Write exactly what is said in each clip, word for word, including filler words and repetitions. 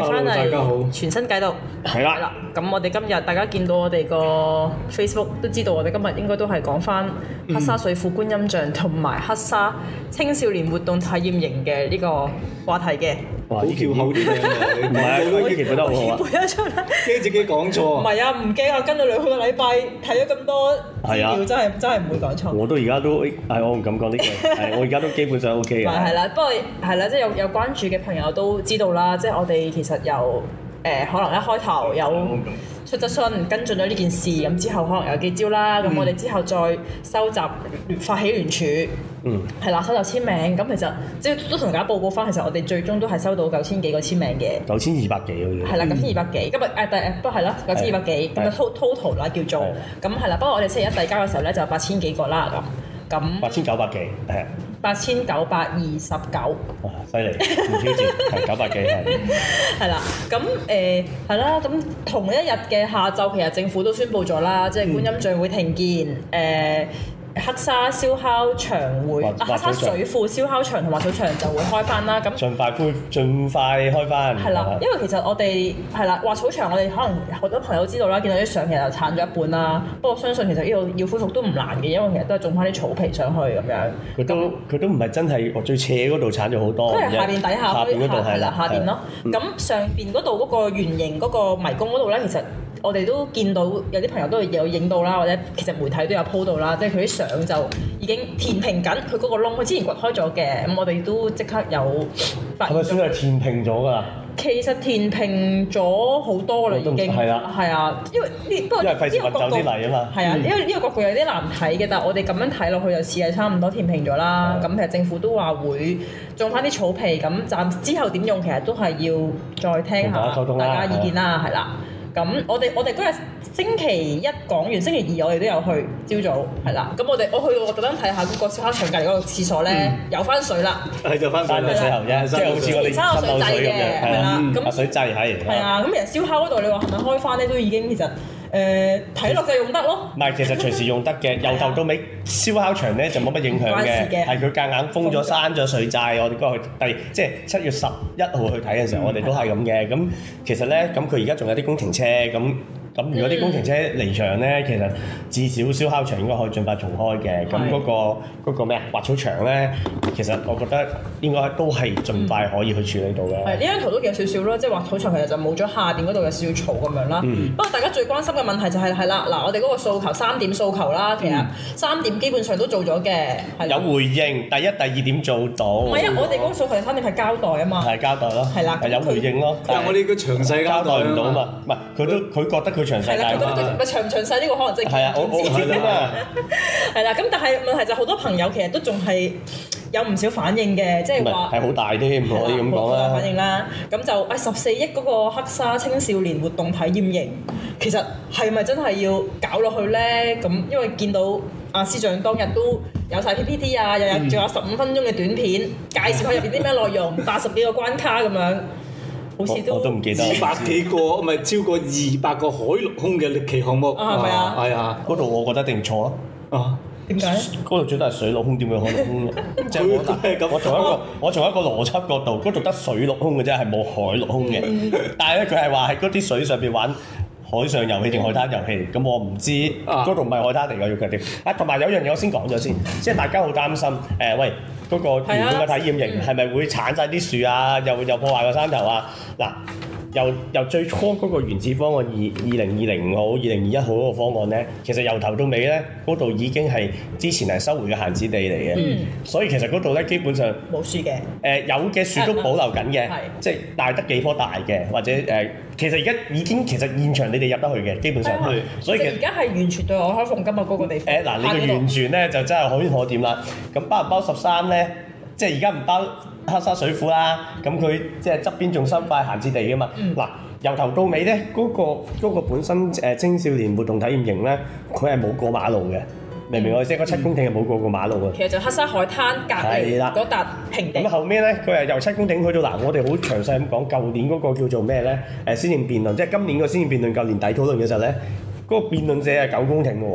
翻嚟全新解讀， 係啦。 咁我哋今日大家見到我哋個 Facebook 都知道，我哋今日應該都係講翻黑沙水庫觀音像同埋黑沙青少年活動體驗營嘅呢個話題嘅。 好翹口啲嘅， 唔係我以前覺得好好啊。 背得出嚟， 驚自己講錯。 唔係啊，唔驚啊，跟咗兩個禮拜睇咗咁多資料， 啊、 真係真係唔會講錯。 我都而家都係我唔敢講呢句，係我而家都基本上 OK 嘅。 係啦，不過係啦，即係有有關注嘅朋友都知道啦，即係我哋其實有誒、呃、可能一開頭有出質詢跟進咗呢件事，咁之後可能有幾招啦，咁、嗯、我哋之後再收集發起聯署。嗯，係啦，收集簽名，咁其實即係都同大家報告翻，其實我哋最終都係收到九千幾個簽名嘅， 九千二百幾好似， 係啦，九千二百幾，今日誒誒，不過係啦，九千二百幾，咁就 total 啦叫做，咁係啦，不過我哋星期一遞交嘅時候咧就八千幾個啦咁，咁八千九百幾，係八千九百二十九， 哇，犀利，唔挑戰，係九百幾係， 係啦，咁誒係啦，咁同一日嘅下晝，其實政府都宣布咗啦，即係觀音像會停建，誒。黑沙燒烤場會，啊黑沙水庫燒烤場同滑草場就會開翻啦。咁盡快恢，盡快開翻。 係啦，因為其實我哋係啦，滑草場我哋可能好多朋友知道啦，見到啲相其實鏟咗一半啦。不過相信其實呢度要恢復都唔難嘅，因為其實都係種翻啲草皮上去咁樣。佢都佢都唔係真係我最斜嗰度鏟咗好多。 都係下邊底下下邊嗰度係啦，下邊咯。咁上邊嗰度嗰個圓形嗰個迷宮嗰度咧，其實我哋都見到有啲朋友都有影到啦，或者其實媒體都有 po 到啦，即係佢啲相就已經填平緊佢嗰個窿，佢之前掘開咗嘅，咁我哋都即刻有發現。係咪算係填平咗㗎啦？ 其實填平咗好多啦，已經係啦，係啊，因為呢不過呢個角度係啊，因為呢個角度有啲難睇嘅，但係我哋咁樣睇落去就似係差唔多填平咗啦。咁其實政府都話會種翻啲草皮，咁暫之後點用其實都係要再聽下大家意見啦，係啦。咁我哋我哋嗰日星期一講完，星期二我哋都有去朝早係啦。咁我哋我去到我特登睇下嗰個燒烤場隔離嗰個廁所咧，有翻水啦。 係就翻翻個水喉啫，即係好似我哋三口水掣嘅，係啦。咁水掣係。 係啊，咁其實燒烤嗰度你話係咪開翻咧，都已經其實誒睇落就用得咯。 唔係，其實隨時用得嘅，由頭到尾燒烤場咧就冇乜影響嘅，係佢夾硬封咗閂咗水掣。我哋嗰日去第即係七月十一號去睇嘅時候，我哋都係咁嘅。咁其實咧，咁佢而家仲有啲工程車咁。咁如果啲工程車離場咧，其實至少燒烤場應該可以盡快重開嘅。咁嗰個嗰個咩啊，滑草場咧，其實我覺得應該都係盡快可以去處理到嘅。 係呢張圖都有少少咯，即係滑草場其實就冇咗下邊嗰度有少少草咁樣啦。嗯、不過大家最關心嘅問題就係係啦，嗱我哋嗰個訴求三點訴求啦，其實三點基本上都做咗嘅。 有回應，第一、第二點做到。 唔係啊，我哋嗰個訴求三點係交代啊嘛。 係交代咯。係啦。係有回應咯。 但係我哋個詳細交代唔到啊嘛。唔係佢都佢覺得佢。係啦， 佢覺得佢咪長詳細呢個可能真係係啊，我我知啦。 係啦，咁但係問題就好多朋友其實都仲係有唔少反應嘅，即係話係好大添，唔可以咁講啦。 反應啦，咁就誒十四億嗰個黑沙青少年活動體驗營，其實係咪真係要搞落去咧？咁因為見到阿司長當日都有晒 P P T 啊，日日仲有十五分鐘嘅短片介紹佢入邊啲咩內容，八十幾個關卡咁樣。好似都我都唔記得， 二百幾個，唔係超過二百個海陸空嘅歷奇項目， 係咪啊？ 係啊， 嗰度我覺得一定錯咯。 啊，點解？ 嗰度最多係水陸空，點會海陸空嘅？即係我我從一個我從一個邏輯角度，嗰度得水陸空嘅啫，係冇海陸空嘅。但係咧，佢係話喺嗰啲水上邊玩海上遊戲定海灘遊戲，咁我唔知嗰度唔係海灘嚟㗎，要強調。啊，同埋有樣嘢我先講咗先，即係大家好擔心誒，喂。嗰個原本嘅體驗營係咪會剷晒啲樹啊？又又破壞個山頭啊？嗱，由由最初嗰個原始方案二二零二零好、二零二一好嗰個方案咧，其實由頭到尾咧，嗰度已經係之前係收回嘅閒置地嚟嘅，嗯、所以其實嗰度咧基本上冇樹嘅。誒、 呃、有嘅樹都保留緊嘅，嗯、即係大得幾棵大嘅，或者誒、呃，其實而家已經其實現場你哋入得去嘅，基本上係， 嗯、 所以其實而家係完全對外開放㗎嘛，嗰個地方。 誒嗱、呃，你嘅完全咧就真係可圈可點啦。咁包唔包十三咧？即係而家唔包黑沙水庫啦，咁佢即係側邊仲收塊閒置地㗎嘛。嗱、嗯，由頭到尾咧，嗰、嗰個嗰個本身誒青少年活動體驗營咧，佢係冇過馬路嘅，明唔明我意思？嗰、嗯、七公頃係冇過過馬路嘅。 其實就黑沙海灘隔離嗰笪平地。咁後尾咧，佢係由七公頃去到嗱，我哋好詳細咁講，舊年嗰個叫做咩咧？誒，施政辯論，即係今年個施政辯論，舊年底討論嘅時候咧，嗰、嗰個辯論者係九公頃嘅喎。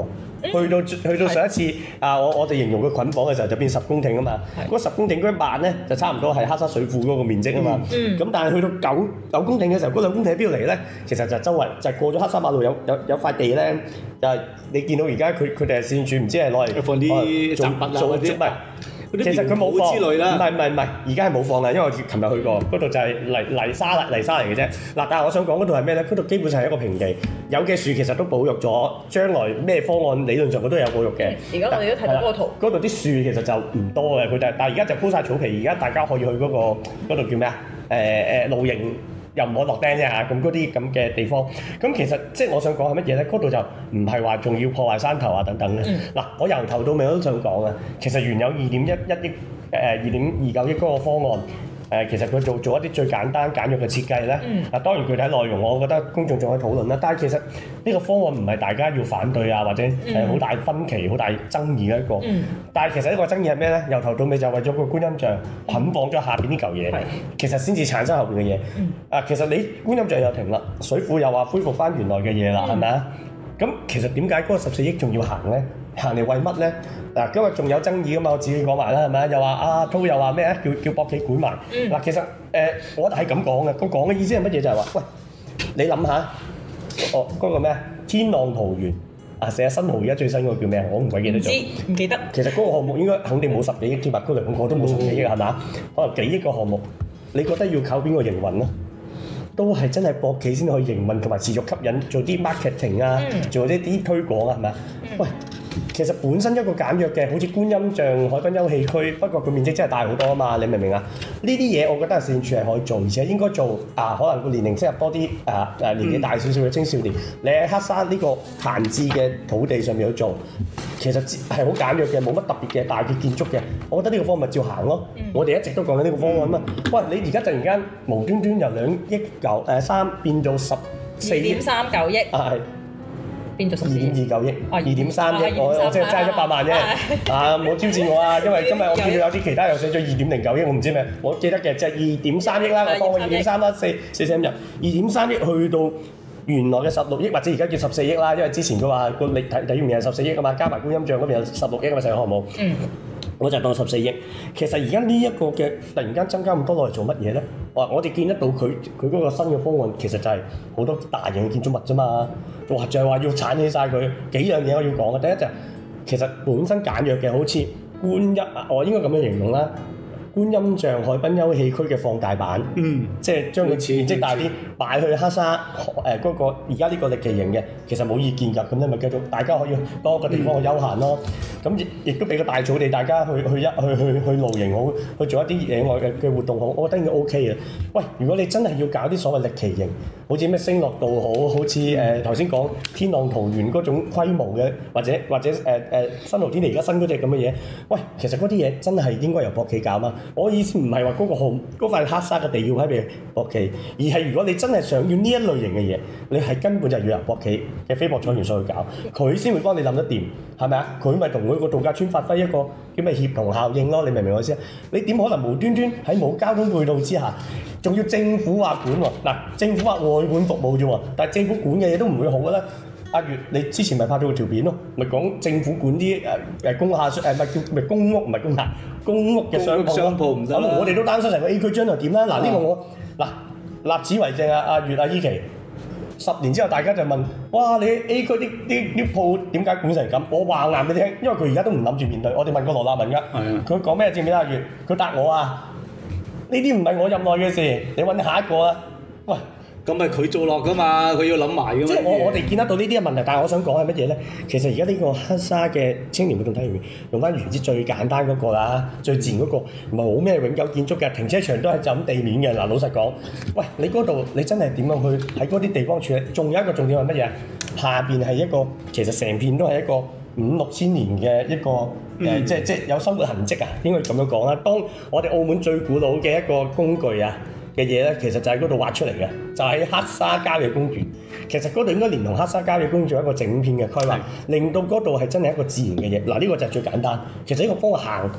去到去到上一次啊，我我哋形容佢捆綁嘅時候就變十公頃啊嘛。嗰十公頃嗰一萬咧就差唔多係黑沙水庫嗰個面積啊嘛。咁但係去到九九公頃嘅時候，嗰兩公頃喺邊度嚟咧？其實就周圍就係過咗黑沙馬路有有有塊地咧，就係你見到而家佢佢哋係線柱，唔知係攞嚟放啲雜物啊嗰啲。 其實佢冇放，唔係唔係唔係，而家係冇放啦，因為我琴日去過，嗰度就係泥泥沙泥沙嚟嘅啫。嗱，但係我想講嗰度係咩咧？嗰度基本上係一個平地，有嘅樹其實都保育咗，將來咩方案理論上佢都有保育嘅。 而家我哋都睇到嗰個圖， 嗰度啲樹其實就唔多嘅，佢但但係而家就鋪晒草皮，而家大家可以去嗰、嗰個嗰度叫咩啊？誒、呃、誒露營。又唔可落釘啫嚇，咁嗰啲咁嘅地方，咁其實即係我想講係乜嘢咧？嗰度就唔係話仲要破壞山頭啊等等嘅。嗱、嗯，我由頭到尾我都想講啊，其實原有二點一一億誒二點二九億嗰個方案。誒、呃，其實佢做做一啲最簡單簡約嘅設計咧，啊、嗯、當然具體內容我覺得公眾仲可以討論啦。但係其實呢個方案唔係大家要反對啊，或者係好大分歧、好大爭議嘅一個。嗯、但係其實呢個爭議係咩咧？由頭到尾就為咗個觀音像捆綁咗下邊呢嚿嘢，嗯、其實先至產生後邊嘅嘢。嗯、啊，其實你觀音像又停啦，水庫又話恢復翻原來嘅嘢啦，係咪啊？咁其實點解嗰個十四億仲要行咧？行嚟為乜咧？嗱，今日仲有爭議噶嘛？我自己講埋啦，係咪？又話阿滔又話咩啊？叫叫博企管埋。嗱、嗯，其實誒、呃，我係咁講嘅。佢講嘅意思係乜嘢？就係話，喂，你諗下，哦，嗰、那個咩啊？天浪桃園啊，寫新濠而家最新嗰個叫咩啊？我唔鬼記得咗。唔知，唔記得。其實嗰個項目應該肯定冇十幾億添啊，嗰兩個都冇十幾億係嘛？可能幾億個項目，你覺得要靠邊個營運咧？都係真係博企先可以營運同埋持續吸引做啲 marketing 啊，嗯、做啲啲推廣啊，係咪？嗯、喂，其實本身一個簡約嘅，好似觀音像海濱休憩區，不過佢面積真係大好多啊嘛，你明唔明啊？呢啲嘢我覺得市政署係可以做，而且應該做啊，可能個年齡適合多啲啊誒年紀大少少嘅青少年，嗯、你喺黑沙呢個閒置嘅土地上面去做，其實係好簡約嘅，冇乜特別嘅大嘅建築嘅，我覺得呢個方案咪照行咯。嗯、我哋一直都講緊呢個方案啊嘛。喂，你而家突然間無端端由兩億九誒三變到十四億，二點三九億啊，係變咗十二點二九億，二點三億，我我即係爭一百萬啫。啊，冇挑戰我啊，因為今日我見到有啲其他又寫咗二點零九億，我唔知咩，我記得嘅就係二點三億啦，我當佢二點三啦，四四捨五入，二點三億去到原來嘅十六億，或者而家叫十四億啦，因為之前佢話個體體育面係十四億啊嘛，加埋觀音像嗰邊有十六億啊嘛，成個項目。嗯。我就當十四億，其實而家呢一個嘅突然間增加咁多落嚟做乜嘢咧？哇！我哋見得到佢佢嗰個新嘅方案，其實就係好多大型嘅建築物啫嘛。哇！就係話要剷起晒佢幾樣嘢我要講嘅。第一就係其實本身簡約嘅，好似觀音啊，我應該咁樣形容啦。觀音像海濱休憩區嘅放大版，嗯，即係將佢面積大啲，擺去黑沙誒嗰、呃那個而家呢個歷奇型嘅，其實冇意見㗎。咁你咪繼續，大家可以多個地方去休閒咯。咁亦亦都俾個大草地，大家去去一去去去露營好，去做一啲野外嘅嘅活動好，我覺得應該 OK 嘅。喂，如果你真係要搞啲所謂歷奇型，好似咩星樂道好，好似誒頭先講天浪桃園嗰種規模嘅，或者或者誒誒、呃呃、新濠天地而家新嗰隻咁嘅嘢，喂，其實嗰啲嘢真係應該由博企搞嘛。我意思唔係話嗰個項嗰塊黑沙嘅地要喺俾博企，而係如果你真係想要呢一類型嘅嘢，你係根本就要由博企嘅非博彩元素去搞，佢先會幫你諗得掂，係咪啊？佢咪同佢個度假村發揮一個叫咩協同效應咯？你明唔明我意思啊？你點可能無端端喺冇交通配套之下，仲要政府話管喎？嗱，政府話外管服務啫喎，但係政府管嘅嘢都唔會好嘅啦。阿月，你之前咪拍咗個條片咯，咪講政府管啲誒誒工廈誒咪叫咪公屋唔係公廈公屋嘅商商鋪唔得啦。我哋都擔心成個 A 區將來點啦。嗱呢、啊、個我嗱立此為證啊！阿月阿依琪，十年之後大家就問：哇！你 A 區啲啲啲鋪點解管成咁？我話硬俾你聽，因為佢而家都唔諗住面對。我哋問過羅立文㗎，佢講咩？知唔知阿月？佢答我啊！呢啲唔係我任內嘅事，你揾下一個啊！喂。 咁咪佢做落噶嘛，佢要諗埋噶嘛。 即係我我哋見得到呢啲嘅問題，但係我想講係乜嘢咧？其實而家呢個黑沙嘅青年活動體驗，用翻原之最簡單嗰個啦，最自然嗰個，唔係冇咩永久建築嘅，停車場都係就咁地面嘅。嗱，老實講，喂，你嗰度你真係點樣去喺嗰啲地方處理？仲有一個重點係乜嘢？下邊係一個其實成片都係一個五六千年嘅一個誒、嗯呃，即係即係有生活痕跡啊，應該咁樣講啦。當我哋澳門最古老嘅一個工具啊嘅嘢咧，其實就喺嗰度挖出嚟嘅，就喺、是、黑沙郊野公園。其實嗰度應該連同黑沙郊野公園做一個整片嘅規劃，令到嗰度係真係一個自然嘅嘢。嗱，呢個就係最簡單。其實呢個方向行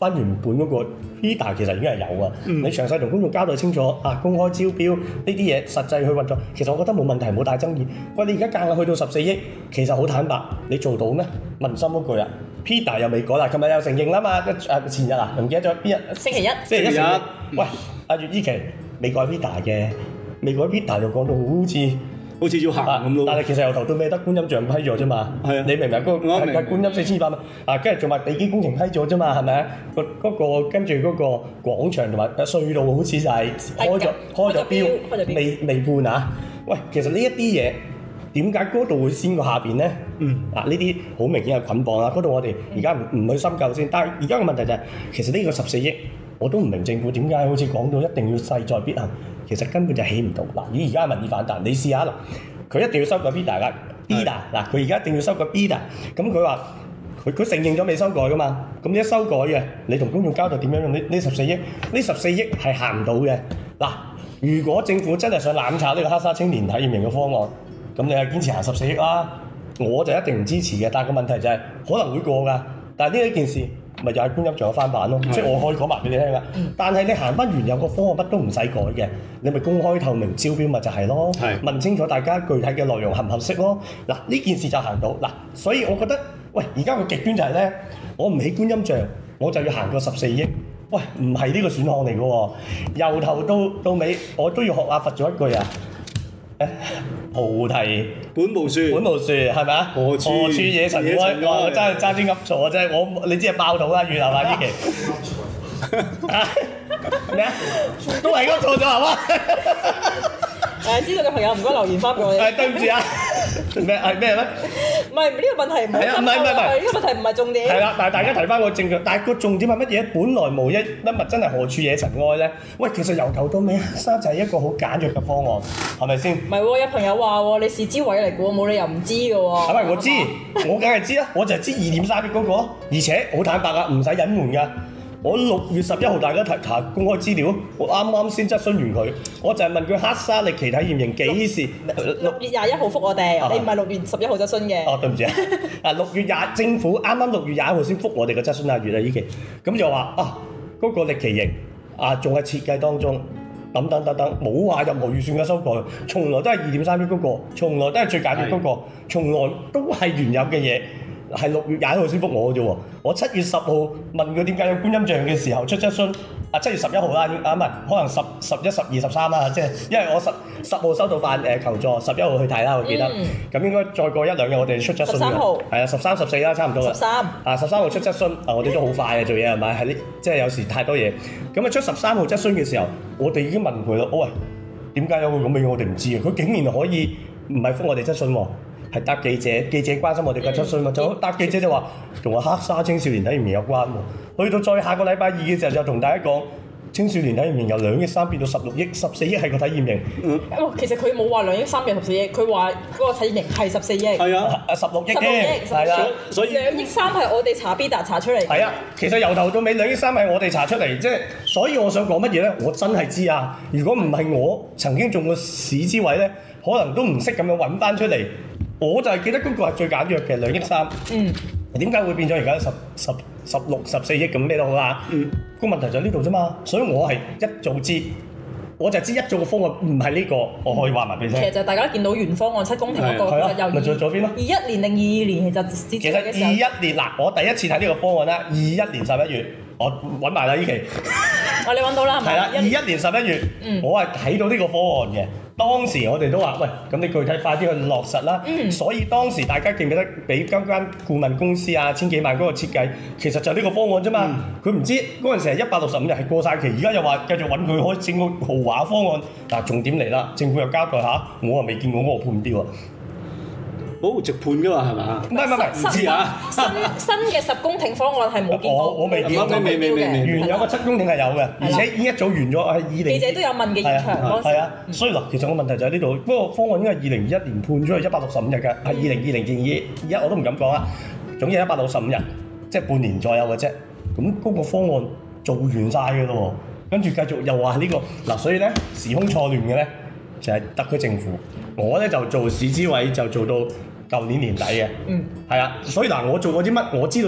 翻原本嗰個 P D A 其實已經係有啊。嗯、你詳細同公眾交代清楚啊，公開招標呢啲嘢實際去運作，其實我覺得冇問題，冇大爭議。喂，你而家夾硬去到十四億，其實好坦白，你做到咩？問心嗰句啊 ，P D A 又未改啦，琴日又承認啦嘛，誒前日啊，唔記得咗邊日？ 星期一。 星期一。喂，阿月依期未改 P D A 嘅，未改 P D A 就講到好似。好似要行咁咯，但係其實由頭到尾得觀音像批咗啫嘛。係啊，你明唔明？嗰個係係觀音四千二百蚊啊，跟住仲話地基工程批咗啫嘛，係咪啊？個嗰個跟住嗰個廣場同埋隧道好似就係開咗開咗標，未未判啊？喂，其實呢一啲嘢點解嗰度會先過下邊咧？嗯，嗱呢啲好明顯係捆綁啦。嗰度我哋而家唔唔去深究先，但係而家嘅問題就係，其實呢個十四億我都唔明政府點解好似講到一定要勢在必行。其實根本就起唔到嗱，而而家民意反彈，你試下嗱，佢一定要修改 P D A 噶 ，P D A 嗱，佢而家一定要修改 P D A， 咁佢話佢佢承認咗未修改噶嘛，咁你一修改嘅，你同公眾交代點樣用呢呢十四億？呢十四億係行唔到嘅嗱，如果政府真係想攬炒呢個黑沙青年體驗營嘅方案，咁你係堅持行十四億啦，我就一定唔支持嘅。但係個問題就係、是、可能會過㗎，但係呢一件事。咪又係觀音像嘅翻版咯，即係我可以講埋俾你聽噶。但係你行翻原有個方案，乜都唔使改嘅，你咪公開透明招標咪就係咯。問清楚大家具體嘅內容合唔合適咯。嗱呢件事就行到嗱，所以我覺得喂，而家個極端就係咧，我唔起觀音像，我就要行個十四億。喂，唔係呢個選項嚟嘅喎，由頭到到尾我都要學阿佛做一句啊。菩提本無樹， 本無樹係咪啊？何處何處惹塵埃？我真係爭啲噏錯啫！我你知係爆肚啦，月係嘛？呢期咩啊？都係噏錯咗係嘛？ 誒，知道嘅朋友唔該留言翻俾我哋。 係對唔住啊！咩係咩咩？ 唔係呢個問題唔係啊！唔係唔係唔係呢個問題唔係重點。 係啦，但係大家提翻個證據，但係個重點係乜嘢？本來無一乜物，真係何處惹塵埃咧？喂，其實由頭到尾，沙就係一個好簡約嘅方案，係咪先？唔係喎，有朋友話喎，你是知位嚟嘅喎，冇理由唔知嘅喎。 係咪？我知，我梗係知啦，我就係知二點三億嗰個，而且好坦白啊，唔使隱瞞㗎。我六月十一號大家提查公開資料，我啱啱先質詢完佢，我就係問佢黑沙歷奇體驗營幾時？ 六月廿一號覆我哋，啊、你唔係六月十一號質詢嘅。哦， 對唔住啊！啊，六月廿政府啱啱六月廿一號先覆我哋嘅質詢啊，月啊依期，咁就話啊嗰、嗰個歷奇營啊仲係設計當中，等等等等，冇話任何預算嘅修改，從來都係二點三億嗰個，從來都係最簡約嗰個，從來都係原有嘅嘢。係六月廿一號先覆我嘅啫喎，我七月十號問佢點解有觀音像嘅時候出質詢，啊七月十一號啦，啊唔係，可能十十一、十二、十三啦，即係因為我十十號收到份誒求助，十一號去睇啦，我記得，咁、嗯、應該再過一兩日我哋出質詢嘅，十三號，係啊，十三、十四啦，差唔多啦，十三，啊十三號出質詢，啊我哋都好快嘅做嘢係咪？係呢，即係有時太多嘢，咁啊出十三號質詢嘅時候，我哋已經問佢啦，喂，點解有個咁嘅嘢我哋唔知啊？佢竟然可以唔係覆我哋質詢喎。係答記者，記者關心我哋嘅質詢嘛？就答記者就話同個黑沙青少年體驗營有關喎。去到再下個禮拜二嘅時候，就同大家講青少年體驗營由兩億三變到十六億，十四億係個體驗營。嗯，其實佢冇話兩億三變十四億，佢話嗰個體驗營係十四億。係啊，十六億嘅。係啊，所以兩億三係我哋查 P D A 查出嚟。係啊，其實由頭到尾兩億三係我哋查出嚟，即係所以我想講乜嘢咧？我真係知啊！如果唔係我曾經中過市之位咧，可能都唔識咁樣揾翻出嚟。我就係記得嗰個係最簡約嘅兩億三。嗯。點解會變咗而家十十十六十四億咁咩都好啦？嗯。個問題就喺呢度啫嘛，所以我係一早知，我就知一早嘅方案唔係呢個，我可以話埋俾你聽。其實就大家見到原方案七公頃嗰個，其實由咪做咗邊咯？二一年定二二年其實其實二一年嗱，我第一次睇呢個方案啦，二一年十一月，我揾埋啦呢期。哦，你揾到啦係咪？係啦，二一年十一月，嗯、我係睇到呢個方案嘅。當時我哋都話：喂，咁你具體快啲去落實啦。嗯、所以當時大家記唔記得俾間間顧問公司啊千幾萬嗰個設計，其實就係呢個方案啫嘛。佢唔、嗯、知嗰陣時係一百六十五日係過晒期，而家又話繼續揾佢可以整個豪華方案。嗱、啊，重點嚟啦，政府又交代下，我又未見過嗰個判標啊。好直判㗎嘛，係嘛？唔係唔係唔知啊！新新嘅十公頃方案係冇見過，我我未見過，未未未原有個七公頃係有嘅，而且已經一早完咗，係二零。記者都有問嘅現場嗰時。係啊，所以嗱，其實個問題就喺呢度。不過方案應該係二零二一年判咗係一百六十五日㗎，係二零二零至二一我都唔敢講啊。總之一百六十五日，即係半年左右嘅啫。咁嗰個方案做完晒㗎咯喎，跟住繼續又話呢個嗱，所以咧時空錯亂嘅咧就係特區政府。我咧就做市諮委就做到舊年年底嘅，嗯，係啊，所以嗱，我做過啲乜，我知道啲乜，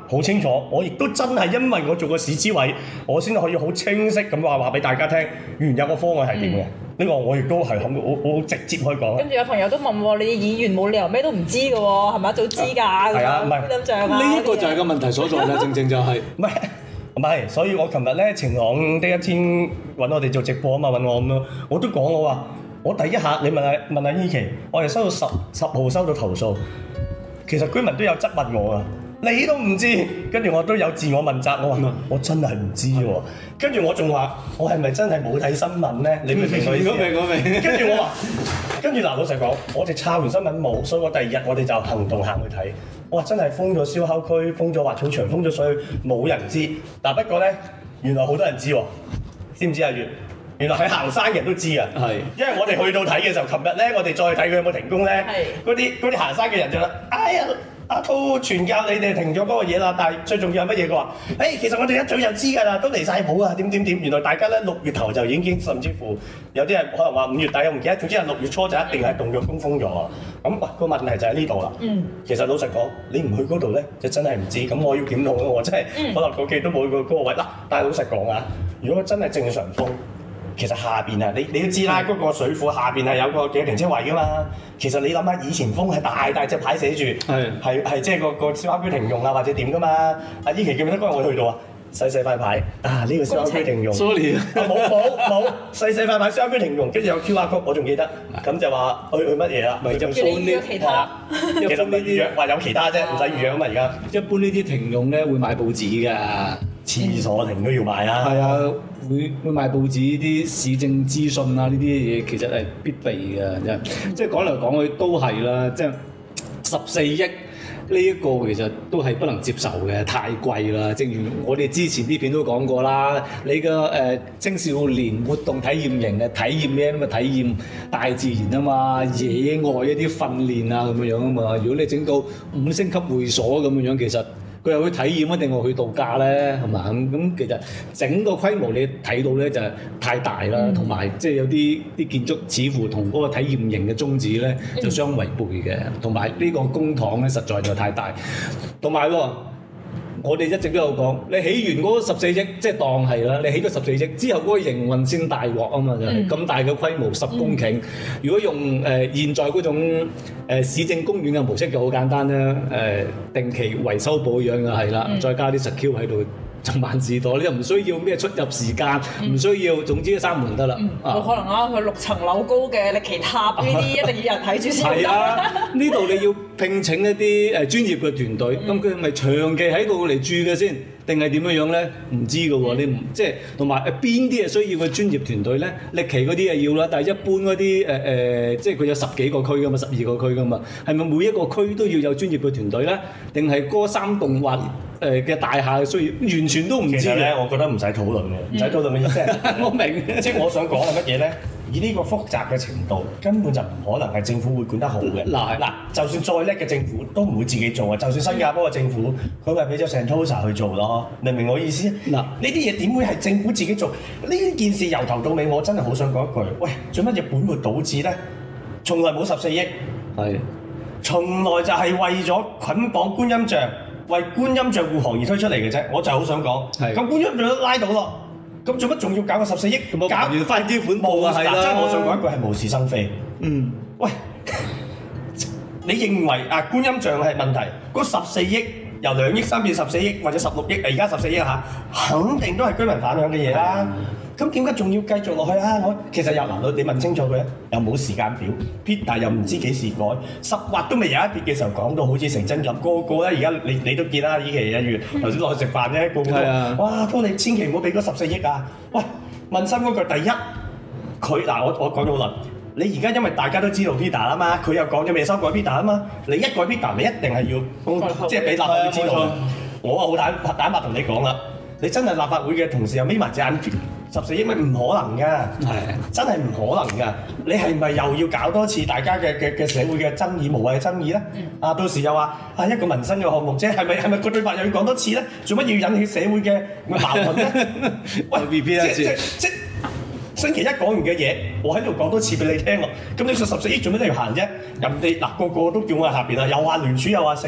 好清楚，我亦都真係因為我做過市諮委，我先可以好清晰咁話話俾大家聽，原有個方案係點嘅。呢、嗯、個我亦都係肯，我我直接可以講。跟住有朋友都問喎，你議員冇理由咩都唔知嘅喎，係咪早知㗎？係啊，唔係觀音像啊。 呢一個就係個問題所在啦，正正就係唔係唔係，所以我琴日咧晴朗的一天揾我哋做直播啊嘛，揾我咁咯，我都講我話，我第一下你問下問下依琪，我哋收到十十號收到投訴，其實居民都有質問我啊。你都唔知，跟住我都有自我問責，我話、嗯、我真係唔知喎。跟住我仲話，我係咪真係冇睇新聞咧？你明唔明我意思？我明我明。跟住我話，跟住嗱，老實講，我哋抄完新聞冇，所以我第二日我哋就行動行去睇。我話真係封咗燒烤區，封咗滑草場，封咗水，冇人知。但不過咧，原來好多人知喎，知唔知啊？月原來喺行山嘅人都知啊。係是，因為我哋去到睇嘅時候，琴日咧我哋再睇佢有冇停工咧，嗰啲嗰啲行山嘅人就話：哎呀！阿滔傳教你哋停咗嗰個嘢啦，但係最重要係乜嘢？佢話：誒、欸，其實我哋一早就知㗎啦，都離晒譜啊，點點點。原來大家咧六月頭就已經，甚至乎有啲人可能話五月底，我唔記得。總之係六月初就一定係動咗工封咗啊。咁哇，個問題就喺呢度啦。嗯。其實老實講，你唔去嗰度咧，就真係唔知。咁我要檢討咯，我真係、嗯、可能個記都冇去過嗰個位嗱。但係老實講啊，如果真係正常封，其實下邊啊，你你都知啦，嗰、嗯、個水庫下邊係有個幾個停車位㗎嘛。其實你諗下，以前封係大大隻牌寫住，係係係即係個個燒烤區停用啊，或者點㗎嘛？阿依琪記唔記得嗰日我去到啊？細細塊牌啊，呢、這個燒烤區停用 ，sorry，冇冇冇，細細塊牌燒烤區停用，跟住有 Q R code，我仲記得，咁就話去去乜嘢啦？咪就叫你預約其他， 其實未預約，話有其他啫，唔使預約啊嘛而家。 一般呢啲停用咧會買報紙㗎， 廁所停都要買啊。 係啊，會會買報紙啲市政資訊啊，呢啲嘢其實係必備嘅，即係即係講嚟講去都係啦，即係十四億。呢一個其實都係不能接受嘅，太貴啦。正如我哋之前啲片都講過啦，你嘅誒、呃、青少年活動體驗營嘅體驗咩咁啊？體驗大自然啊嘛，野外一啲訓練啊咁樣樣啊嘛。如果你整到五星級會所咁樣樣，其實佢又去體驗一定係去度假咧，係嘛？咁咁其實整個規模你睇到咧就係太大啦，同埋即係有啲啲建築似乎同嗰個體驗營嘅宗旨咧就相違背嘅，同埋呢個公帑咧實在就太大，同埋喎。我哋一直都有講，你起完嗰十四億，即係當係啦，你起咗十四億之後嗰個營運先大鑊啊嘛，就係咁大嘅規模十公頃。嗯、如果用誒、呃、現在嗰種誒、呃、市政公園嘅模式就好簡單啦，誒、呃、定期維修保養嘅係啦，嗯、再加啲實 Q 喺度。就萬事多，你又唔需要咩出入時間，唔、嗯、需要，總之閂門得啦。冇、 嗯啊、可能啊，佢六層樓高嘅力奇塔呢啲一定要人睇住先得。係啊，呢度你要聘請一啲誒專業嘅團隊，咁佢係咪長期喺度嚟住嘅先？定係點樣樣咧？唔知㗎喎，你唔即係同埋誒邊啲係需要嘅專業團隊咧？力奇嗰啲係要啦，但係一般嗰啲誒誒，即係佢有十幾個區㗎嘛，十二個區㗎嘛，係咪每一個區都要有專業嘅團隊咧？定係嗰三棟或誒嘅大廈需要完全都唔知？其實咧， 我覺得唔使討論嘅，唔使討論嘅意思係我明，即係我想講係乜嘢咧？以呢個複雜嘅程度，根本就唔可能係政府會管得好嘅。嗱嗱，就算再叻嘅政府都唔會自己做啊！就算新加坡嘅政府，佢咪俾咗 Sentosa 去做咯？明唔明我意思？嗱，呢啲嘢點會係政府自己做？呢件事由頭到尾，我真係好想講一句：喂，做乜嘢本末倒置咧？從來冇十四億，係的，從來就係為咗捆綁觀音像，為觀音像護航而推出嚟嘅啫。我就好想講，咁的觀音像都拉到咯。咁做乜仲要搞個十四億？搞完翻基本步啊，係啦。即係我想講一句係無事生非。嗯。喂，你認為啊觀音像係問題？嗰十四億由兩億三變十四億或者十六億，而家十四億嚇，肯定都係居民反響嘅嘢啦。咁點解仲要繼續落去啊？我其實又嗱，你問清楚佢啊，又冇時間表 Peter 又唔知幾時改，十劃都未有一撇嘅時候講到好似成真咁，個個咧而家你你都見啦，依期一月頭先落去食飯啫，個個都話：哇，哥你千祈唔好俾嗰十四億啊！喂，問心嗰句，第一，佢嗱我我講咗好耐，你而家因為大家都知道 Peter 啊嘛，佢又講咗未修改 Peter 啊嘛，你一改 Peter，你一定係要公即係俾立法會知道。我啊好坦坦白同你講啦，你真係立法會嘅同事又眯埋隻眼。十四億咪唔可能㗎，係的真係唔可能㗎。你係咪又要搞多次大家嘅嘅嘅社會嘅爭議、無謂嘅爭議咧？嗯、啊，到時又話啊一個民生嘅項目啫，係咪係咪個對白又要講多次咧？做乜要引起社會嘅矛盾咧？喂，即即即星期一講完嘅嘢，我喺度講多次俾你聽咯。咁你說十四億做咩都要行啫？人哋嗱個個都叫我喺下邊啦，又話聯署又話剩。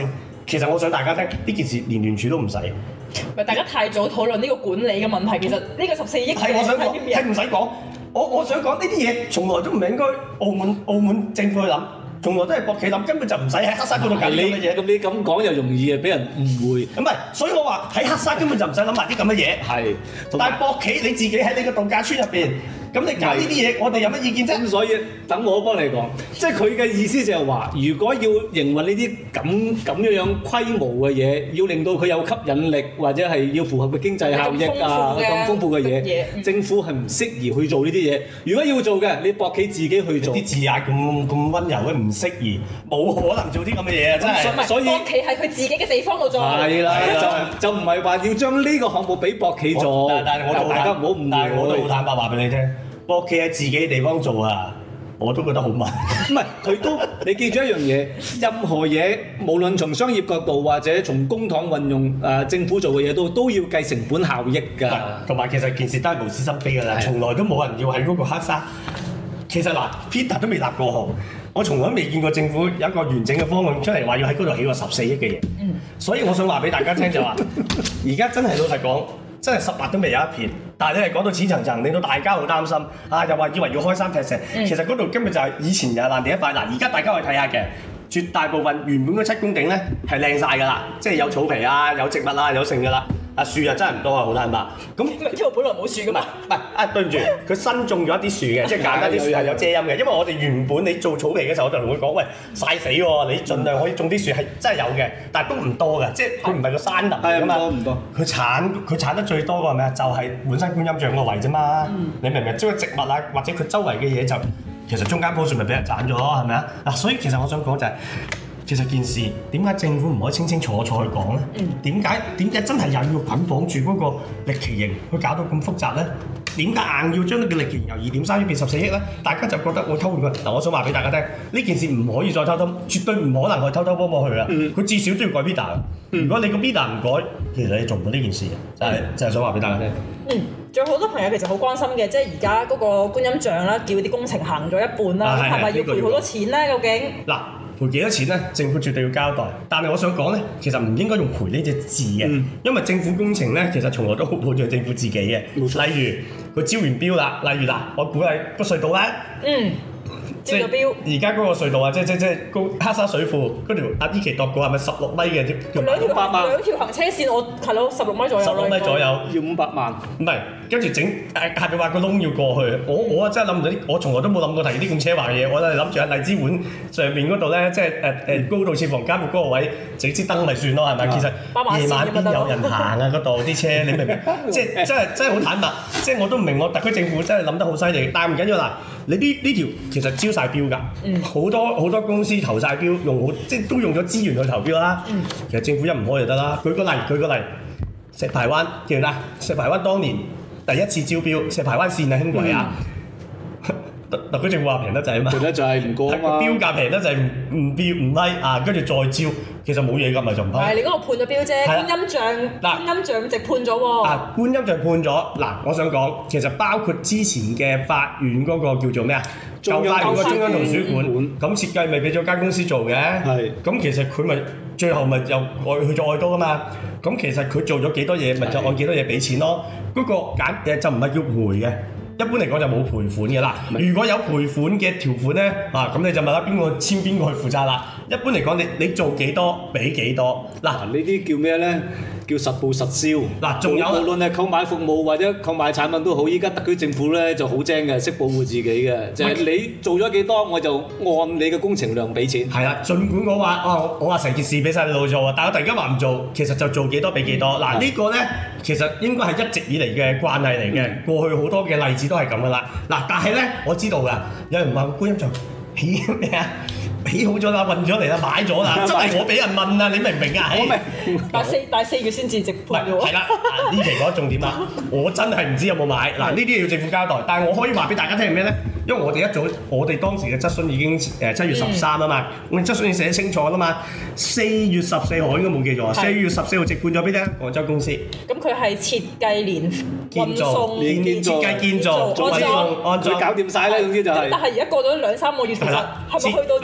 其實我想大家聽呢件事，連聯署都唔使。 唔係大家太早討論呢個管理嘅問題，其實呢個十四億係我想講，係唔使講。我我想講呢啲嘢，從來都唔係應該澳門澳門政府去諗。從來都係博企諗，根本就唔使喺黑沙嗰度搞啲咁嘅嘢。咁你咁講又容易啊，俾人誤會。 唔係，所以我話喺黑沙根本就唔使諗埋啲咁嘅嘢。 係， 但係博企你自己喺你個度假村入邊，咁你搞呢啲嘢，我哋有乜意見啫？ 咁所以等我幫你講，即係佢嘅意思就係話，如果要營運呢啲咁咁樣樣規模嘅嘢，要令到佢有吸引力，或者係要符合嘅經濟效益啊，咁豐富嘅嘢，政府係唔適宜去做呢啲嘢。如果要做嘅，你博企自己去做。啲字眼咁咁溫柔嘅唔適宜，冇可能做啲咁嘅嘢啊！真係。 所以博企係佢自己嘅地方度做。 係啦，就就唔係話要將呢個項目俾博企做。 但係我都大家唔好誤會，但係我都好坦白話俾你聽。博企喺自己地方做啊，我都覺得好慢。 唔係，佢都你記住一樣嘢，任何嘢無論從商業角度或者從公帑運用誒、呃、政府做嘅嘢都都要計成本效益㗎。 同埋其實件事都係無私心非㗎啦，從來都冇人要喺嗰個黑沙。其實嗱 ，Peter 都未立過號，我從來未見過政府有一個完整嘅方案出嚟話要喺嗰度起個十四億嘅嘢。嗯。所以我想話俾大家聽就話，而家真係老實講。真係十劃都未有一片，但係你係講到淺層層，令到大家好擔心啊！又話以為要開山劈石，嗯、其實嗰度根本就係以前又係爛地一塊。嗱，而家大家可以睇下嘅，絕大部分原本嗰七公頃咧係靚晒㗎啦，即係有草皮啊、有植物啊、有剩㗎啦。啊樹啊真係唔多啊，好坦白。咁因為本來冇樹㗎嘛。 唔係啊，對唔住，佢新種咗一啲樹嘅，即係簡單啲樹係有遮陰嘅。因為我哋原本你做草皮嘅時候，我就同佢講：喂，曬死喎！你盡量可以種啲樹係真係有嘅，但係都唔多嘅，即係佢唔係個山林嚟㗎嘛。 唔多。佢產佢產得最多嘅係咩啊？就係本身觀音像個位啫嘛。嗯、你明唔明？即係植物啊，或者佢周圍嘅嘢就其實中間棵樹咪俾人斬咗咯，係咪啊？嗱，所以其實我想講就係、是。其實件事點解政府唔可以清清楚楚去講咧？點解點解真係又要捆綁住嗰個歷奇形去搞到咁複雜咧？點解硬要將呢個歷奇形由二點三億變十四億咧？大家就覺得我偷換佢嗱，我想話俾大家聽，呢件事唔可以再偷偷，絕對唔可能去偷偷摸摸去啦。佢、嗯、至少都要改 bidder。如果你個 bidder 唔改，其實你做唔到呢件事嘅，就係、是、就係、是、想話俾大家聽。嗯，仲有好多朋友其實好關心嘅，即係而家嗰個觀音像啦，叫啲工程行咗一半啦，係咪、啊、要賠好多錢咧？究竟嗱？賠幾多錢咧？政府絕對要交代。但係我想講咧，其實唔應該用賠呢隻字嘅，嗯、因為政府工程咧，其實從來都好保障政府自己嘅。錯例如佢招完標啦，例如嗱，我估係個隧道咧。嗯。即係而家嗰個隧道啊，即係即係即係高黑沙水庫嗰條阿依琪度過係咪十六米嘅？條兩條兩條行車線，我係咯十六米左右。 十六米左右要五百萬。唔係，跟住整誒下邊挖個窿要過去。我我啊真係諗唔到啲，我從來都冇諗過提啲咁奢華嘅嘢。我都係諗住喺荔枝碗上面嗰度咧，即係誒誒高度設防監獄嗰個位整支燈咪算咯，係咪？其實夜晚邊有人行啊？嗰度啲車你明唔明？即係真係真係好坦白，即係我都唔明我特區政府真係諗得好犀利。但係唔緊要啦，你呢呢條其實招晒標㗎，好、嗯、多好多公司投晒標，用好即係都用咗資源去投標啦。嗯、其實政府一唔開就得啦。舉個例，舉個例，石排灣記唔記得？石排灣當年第一次招標，石排灣線啊，輕軌啊，特特區政府話平得滯啊嘛， 平得滯唔過啊嘛， 標價平得滯唔唔標唔批啊，跟住再招，其實冇嘢㗎，咪就唔批。 係你嗰個判咗標啫，觀音像嗱，觀音像直判咗喎。 啊，觀音像判咗嗱，我想講其實包括之前嘅法院嗰個叫做咩啊？舊法院個中央圖書館，咁設計咪俾咗間公司做嘅。係，咁其實佢咪最後咪又愛去咗愛多㗎嘛？咁其實佢做咗幾多嘢，咪就按幾多嘢俾錢咯。嗰個簡誒就唔係叫賠嘅。一般嚟講就冇賠款嘅啦。如果有賠款嘅條款咧，啊咁你就問下邊個簽邊個去負責啦。一般嚟講，你你做幾多俾幾多。嗱，呢啲叫咩咧？叫實報實銷。嗱， 仲有無論係購買服務或者購買產品都好，依家特區政府咧就好精嘅，識保護自己嘅，就係、是、你做咗幾多，我就按你嘅工程量俾錢。 係啦，儘管我話啊，我話成件事俾晒你老做啊，但係我突然間話唔做，其實就做幾多俾幾多。嗱、嗯，呢個咧其實應該係一直以嚟嘅慣例嚟嘅，嗯、過去好多嘅例子都係咁噶啦。嗱，但係咧我知道㗎，有人話觀音像起咩啊？起好咗啦，運咗嚟啦，買咗啦，真係我俾人問啊，你明唔明啊？ 我明，但四但四月先至直判喎。 係啦，呢期講重點啦，我真係唔知有冇買。嗱，呢啲嘢要政府交代，但係我可以話俾大家聽係咩咧？因為我哋一早，我哋當時嘅質詢已經誒七月十三啊嘛，我哋質詢已經寫清楚啦嘛。四月十四號應該冇記錯，四月十四號直判咗俾咧廣州公司。 咁佢係設計連運送、 連設計建造、運送、安裝， 佢搞掂晒啦，總之就係。 但係而家過咗兩三個月，其實係咪去到整好咗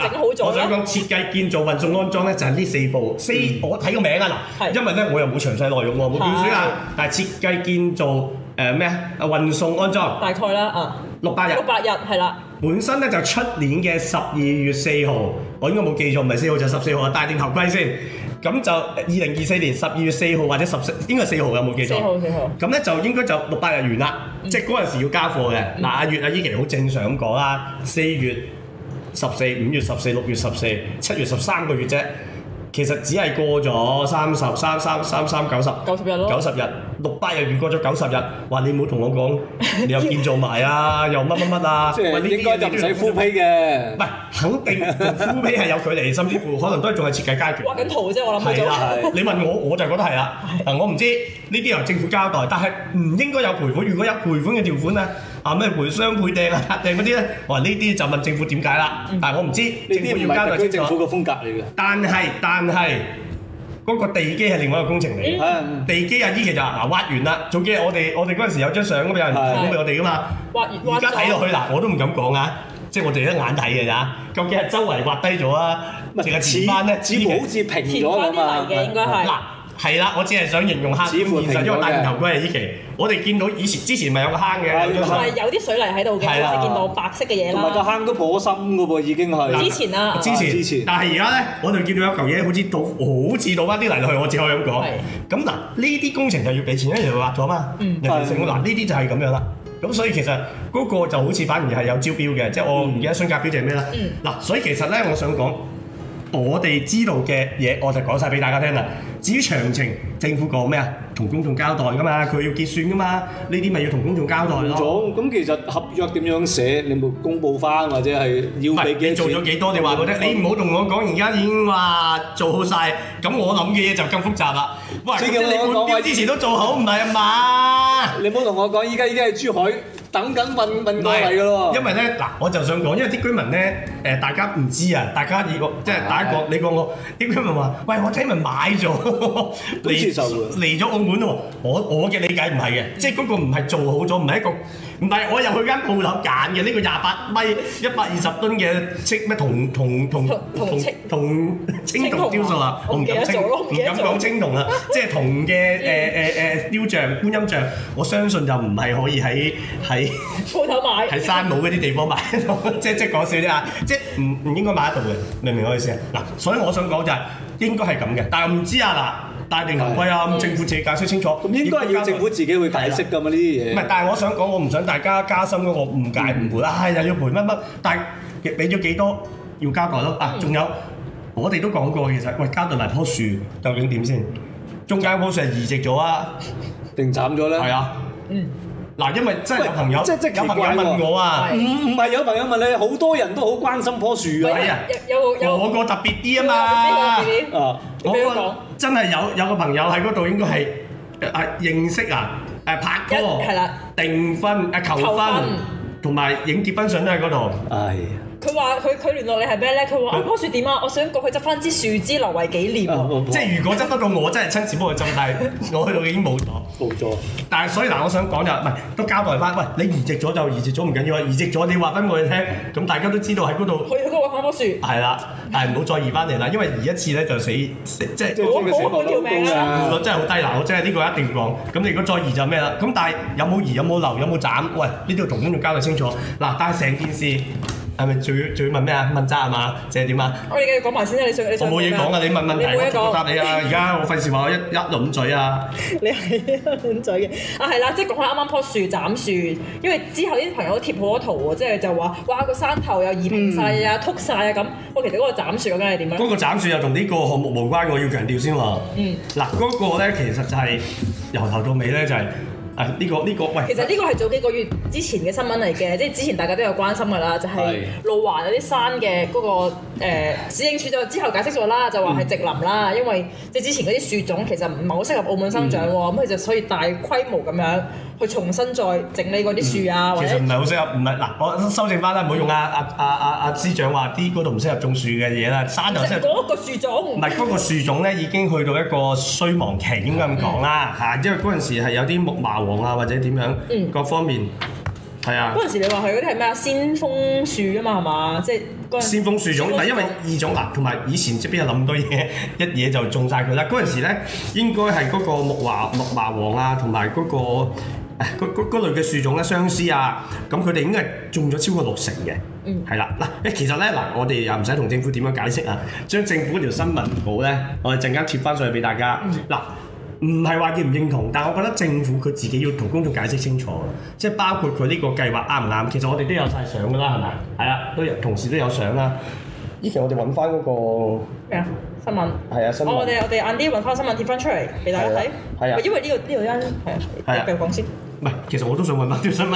我想講設計、建造、運送、安裝咧，就係呢四步。四我睇個名啊嗱，因為咧我又冇詳細內容喎，冇標書啊。但係設計、建造誒咩啊？運送、安裝大概啦啊， 六百日。 六百日係啦。 本身咧就出年嘅十二月四號，我應該冇記錯，唔係四號就十四號啊！戴定頭盔先。咁就二零二四年十二月四號或者十四，應該係四號有冇記錯？四號四號。咁咧就應該就六百日完啦，嗯、即係嗰陣時要交貨嘅。嗱、嗯，阿月阿依琪好正常咁講啦，四月十四、五月十四、六月十四、七月十三個月啫。其實只係過咗三十三三三三九十九十日咯， 九十日六百日完過咗九十日，話你唔好同我講，你又建造埋啊，又乜乜乜啊， 即係應該就唔使 full pay 嘅， 唔係肯定同 full pay 係有距離，甚至乎可能都係仲係設計階段。 畫緊圖啫，我諗係啦，你問我我就覺得係啦。嗱，我唔知呢啲由政府交代，但係唔應該有賠款。如果有賠款嘅條款咧，啊咩賠雙賠訂啊訂嗰啲咧，我話呢啲就問政府點解啦。但係我唔知政府要交代清楚。 政府嘅風格嚟嘅。 但係但係嗰個地基係另外一個工程嚟嘅。 嗯、地基啊，依期就嗱挖完啦。早幾日我哋我哋嗰陣時有張相咁有人提供俾我哋噶嘛。 挖完而家睇落去嗱，我都唔敢講啊，即係我哋一眼睇嘅咋。究竟係周圍挖低咗啊，定係填翻咧？ 似乎好似平咗咁啊。 嘅應該係。嗱係啦，我只係想形容下，現實因為戴頭盔係依期。我哋見到以前之前咪有個坑嘅， 同埋有啲水泥喺度嘅，我哋見到白色嘅嘢啦。 同埋個坑都頗深嘅噃，已經係。 之前啦， 之前之前。但係而家咧，我哋見到有嚿嘢好似倒，好似倒翻啲泥落去，我只可以咁講。咁嗱，呢啲工程就要俾錢，因為人哋挖咗嘛。嗯。人哋成嗱呢啲就係咁樣啦。咁所以其實嗰個就好似反而係有招標嘅，即係我唔記得雙甲標就係咩啦。嗯。嗱，所以其實咧，我想講。我哋知道嘅嘢，我就講晒俾大家聽啦。至於詳情，政府講咩啊？同公眾交代噶嘛，佢要結算噶嘛，呢啲咪要同公眾交代咯。 咁其實合約點樣寫？你冇公佈翻，或者係要俾幾錢？ 你做咗幾多？你話我聽。你唔好同我講，而家已經話做好晒。咁我諗嘅嘢就更複雜啦。喂，即係你換標之前都做好，唔係啊嘛？ 你唔好同我講，依家已經係珠海。等緊運運過嚟嘅咯， 因為咧嗱，我就想講，因為啲居民咧，誒、呃、大家唔知啊，大家以個即係第一個，你講我啲居民話，喂，我聽聞買咗嚟嚟咗澳門喎，我我嘅理解唔係嘅，即係嗰個唔係做好咗，唔係一個，唔係我入去間鋪頭揀嘅呢個廿八米一百二十噸嘅青咩銅銅銅銅銅青銅雕塑啊，我唔敢稱，唔敢講青銅啊，即係銅嘅誒誒誒雕像觀音像，我相信就唔係可以喺喺鋪頭買， 喺山姆嗰啲地方買到，即即講笑啫啊！即唔唔應該買得到嘅，明唔明我意思啊？嗱，所以我想講就係應該係咁嘅，但係唔知啊嗱，戴定頭盔啊，咁政府自己解釋清楚。咁應該係要政府自己去解釋㗎嘛呢啲嘢。唔係，但係我想講，我唔想大家加深嗰個誤解誤會啦，又要賠乜乜，但係俾咗幾多要交代咯。啊，仲有我哋都講過，其實喂交代埋棵樹究竟點先？中間棵樹係移植咗啊，定斬咗咧？係啊，嗯。嗱，因為真係有朋友，即即有朋友問我啊，唔唔係有朋友問你，好多人都好關心棵樹啊。係啊，有有我個特別啲啊嘛。啊，我個真係有有個朋友喺嗰度，應該係誒認識啊，誒拍拖，係啦，訂婚誒求婚，同埋影結婚相都喺嗰度。係。佢話：佢佢聯絡你係咩咧？佢話：啊棵樹點啊？我想過去執翻支樹枝留為紀念。即係如果執得到我，真係親自幫佢執，但係我去到已經冇咗。冇咗。但係所以嗱，我想講就唔係都交代翻。喂，你移植咗就移植咗唔緊要啊，移植咗你話翻我哋聽，咁大家都知道喺嗰度。去去嗰度揾棵樹。係啦，但係唔好再移翻嚟啦，因為移一次咧就死，即係即係死亡率真係好低嗱，我真係呢個一定講。咁你如果再移就咩啦？咁但係有冇移有冇留有冇斬？喂，呢度同公眾交代清楚。嗱，但係成件事。係咪仲要仲要問咩啊？問責係嘛？即係點啊？我哋繼續講埋先啦，你想你想我冇嘢講啊！你問問題，我答你啊！而家我費事話我一一輪嘴啊！你係一輪嘴嘅啊，係啦，即係講開啱啱棵樹斬樹，因為之後啲朋友都貼好多圖喎，即係就話哇個山頭又移平曬啊、禿曬啊咁。喂，其實嗰個斬樹究竟係點樣？嗰個斬樹又同呢個項目無關，我要強調先喎。嗯。嗱，嗰個咧其實就係由頭到尾咧就係。啊！呢、這個呢、這個喂，其實呢個係早幾個月之前嘅新聞嚟嘅，即係之前大家都有關心㗎啦，就係、是、路環有啲山嘅嗰、那個誒、呃、市政署就之後解釋咗啦，就話係植林啦，嗯、因為即係之前嗰啲樹種其實唔係好適合澳門生長喎，咁佢、嗯、就所以大規模咁樣去重新再整理嗰啲樹啊，嗯、或者其實唔係好適合，唔係嗱，我修正翻啦，唔好用阿阿阿阿阿司長話啲嗰度唔適合種樹嘅嘢啦，山就適合嗰個樹種，唔係嗰個樹種咧已經去到一個衰亡期，應該咁講啦嚇，因為嗰陣時係有啲木麻黃啊或者點樣，嗯、各方面係啊。嗰陣時你話佢嗰啲係咩啊？先鋒樹啊嘛係嘛，即係嗰先鋒樹種，但因為異種嗱，同埋以前即邊有咁多嘢，一嘢就種晒佢啦。嗰陣時咧，應該係嗰個木華木麻黃啊，同埋嗰個誒嗰嗰嗰類嘅樹種咧，相思啊，咁佢哋應該係種咗超過六成嘅。嗯，係啦，嗱，誒其實咧嗱，我哋又唔使同政府點樣解釋啊，將政府條新聞稿咧，我哋陣間貼翻上去俾大家。嗱、嗯，唔係話認唔認同，但係我覺得政府佢自己要同公眾解釋清楚，即係包括佢呢個計劃啱唔啱。其實我哋都有晒相㗎啦，係咪？係啊，都有同事都有相啦。依期我哋揾翻嗰個咩啊新聞？係啊新聞。 我哋我哋晏啲揾翻新聞貼翻出嚟俾大家睇。係啊，因為呢、呢個呢、呢個間係啊，繼續講先。 唔係，其實我都想揾翻條新聞。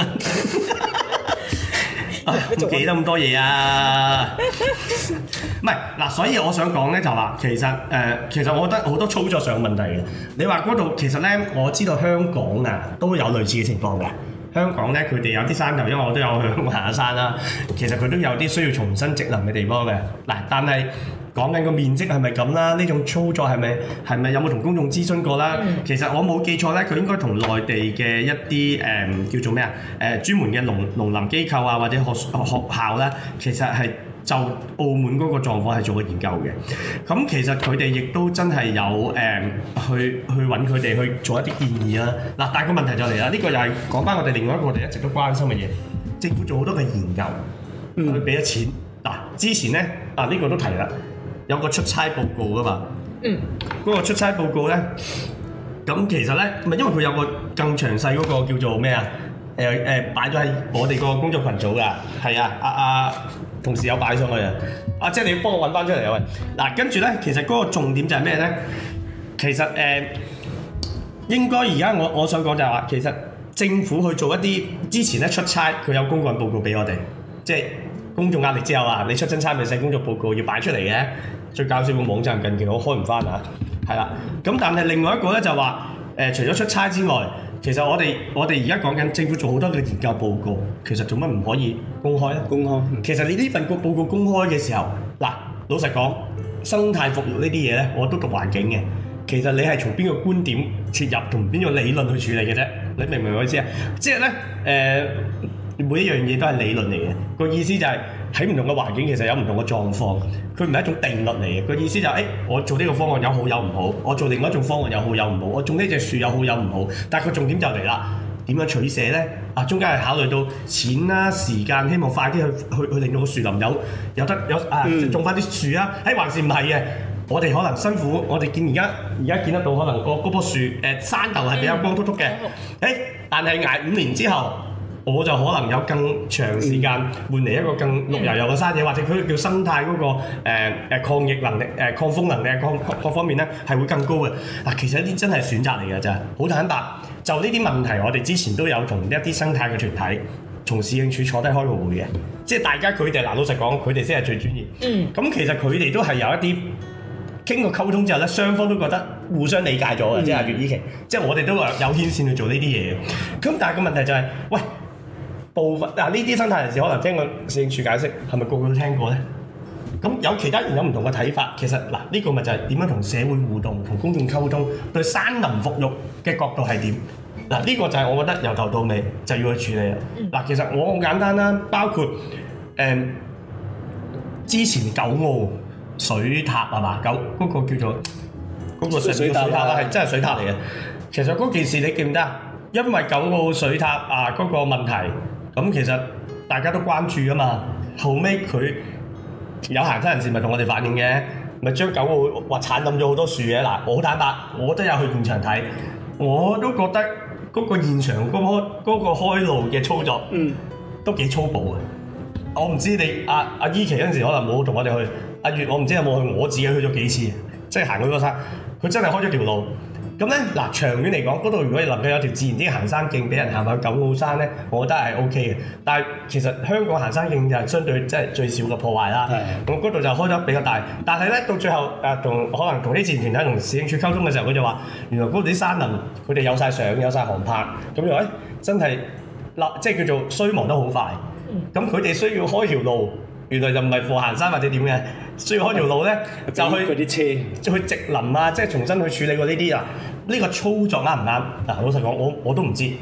唔記得咁多嘢啊！唔係嗱，所以我想講咧就話，其實誒、呃，其實我覺得好多操作上問題嘅。你話嗰度其實咧，我知道香港啊都有類似嘅情況嘅。香港咧，佢哋有啲山頭，因為我都有去行下山啦。其實佢都有啲需要重新植林嘅地方嘅。嗱，但係講緊個面積係咪咁啦？呢種操作係咪係咪有冇同公眾諮詢過啦？嗯、其實我冇記錯咧，佢應該同內地嘅一啲誒、呃、叫做咩啊？誒、呃、專門嘅農農林機構啊，或者學學校咧，其實係就澳門嗰個狀況係做過研究嘅。咁其實佢哋亦都真係有誒、呃、去去揾佢哋去做一啲建議啦。嗱，但係個問題就嚟啦，呢、呢個又係講翻我哋另外一個我哋一直都關心嘅嘢，政府做好多嘅研究，嗯、去俾咗錢。嗱，之前咧啊呢、呢個都提啦。有個出差報告噶嘛，嗯，嗰個出差報告咧，咁其實咧，唔係因為佢有個更詳細嗰個叫做咩啊？誒誒擺咗喺我哋個工作群組噶，係啊，阿、啊、阿同事有擺上去啊，啊即係你要幫我揾翻出嚟啊喂，嗱跟住咧，其實嗰個重點就係咩咧？其實誒、呃、應該而家我我想講就係話，其實政府去做一啲之前咧出差，佢有公幹報告俾我哋，即係公眾壓力之後啊，你出親差咪寫工作報告要擺出嚟嘅。最搞笑個網站近期我開唔翻啊，係啦。咁但係另外一個咧就話誒、呃，除咗出差之外，其實我哋我哋而家講緊政府做好多嘅研究報告，其實做乜唔可以公開咧？公開。其實你呢份個報告公開嘅時候，嗱，老實講，生態復育呢啲嘢咧，我都讀環境嘅。其實你係從邊個觀點切入，同邊個理論去處理嘅啫？你明唔明我意思啊？即係咧誒，每一樣嘢都係理論嚟嘅。個意思就係喺唔同嘅環境，其實有唔同嘅狀況。佢唔係一種定律嚟嘅，個意思就係、是，誒、欸，我做呢個方案有好有唔好，我做另外一種方案有好有唔好，我種呢隻樹有好有唔好，但係個重點就嚟啦，點樣取捨咧？啊，中間係考慮到錢啦、時間，希望快啲去去去令到個樹林有有得有啊，嗯、種翻啲樹啊，誒、欸，還是唔係嘅？我哋可能辛苦，我哋見而家而家見得到，可能個嗰棵樹誒、呃、山頭係比較光禿禿嘅，誒、嗯欸，但係捱五年之後。我就可能有更長時間換嚟一個更綠油油嘅山野，或者佢叫生態嗰、那個誒誒、呃、抗逆能力、誒、呃、抗風能力各各各方面咧係會更高嘅。嗱，其實呢啲真係選擇嚟嘅咋，好坦白。就呢啲問題，我哋之前都有同一啲生態嘅團體，從市政署坐低開過會嘅，即係大家佢哋嗱老實講，佢哋先係最專業。嗯。咁其實佢哋都係有一啲經過溝通之後咧，雙方都覺得互相理解咗嘅，嗯、即係阿月依期，即係我哋都有牽線去做呢啲嘢嘅。咁但係個問題就係、是，喂。部分嗱呢啲生態人士可能聽過市政署解釋，係咪個個都聽過咧？咁有其他人有唔同嘅睇法，其實嗱呢、呢個咪就係點樣同社會互動、同公眾溝通，對山林復育嘅角度係點？嗱、呢、呢個就係我覺得由頭到尾就要去處理啦。嗱、嗯，其實我好簡單啦，包括誒、嗯、之前九澳水塔係嘛？九嗰、嗰個叫做嗰、嗰個水水塔啦，係真係水塔嚟嘅。其實嗰件事你記唔得啊？因為九澳水塔啊嗰、嗰個問題。咁其實大家都關注㗎嘛，後尾佢有行山人士咪同我哋反映嘅，咪將九澳話剷冧咗好多樹嘅。嗱，我好坦白，我都有去現場睇，我都覺得嗰個現場嗰、嗰個嗰個開路嘅操作，嗯，都幾粗暴嘅。我唔知你阿阿依琪嗰陣時可能冇同我哋去，阿月我唔知有冇去，我自己去咗幾次，即係行嗰個山，佢真係開咗條路。咁咧嗱，長遠嚟講，嗰度如果你能夠有條自然啲行山徑俾人行去九澳山咧，我覺得係 O K 嘅。但係其實香港行山徑就係相對即係最少嘅破壞啦。咁嗰度就開得比較大，但係咧到最後誒同可能同啲自然團體同市政署溝通嘅時候，佢就話原來嗰度啲山林佢哋有晒相有晒航拍，咁又誒真係嗱即係叫做衰亡得好快。咁佢哋需要開條路，原來就唔係貨行山或者點嘅，需要開條路咧就去嗰啲車，去植林啊，即係重新去處理過呢啲啊。呢個操作啱唔啱？嗱，老實講，我我都唔知，即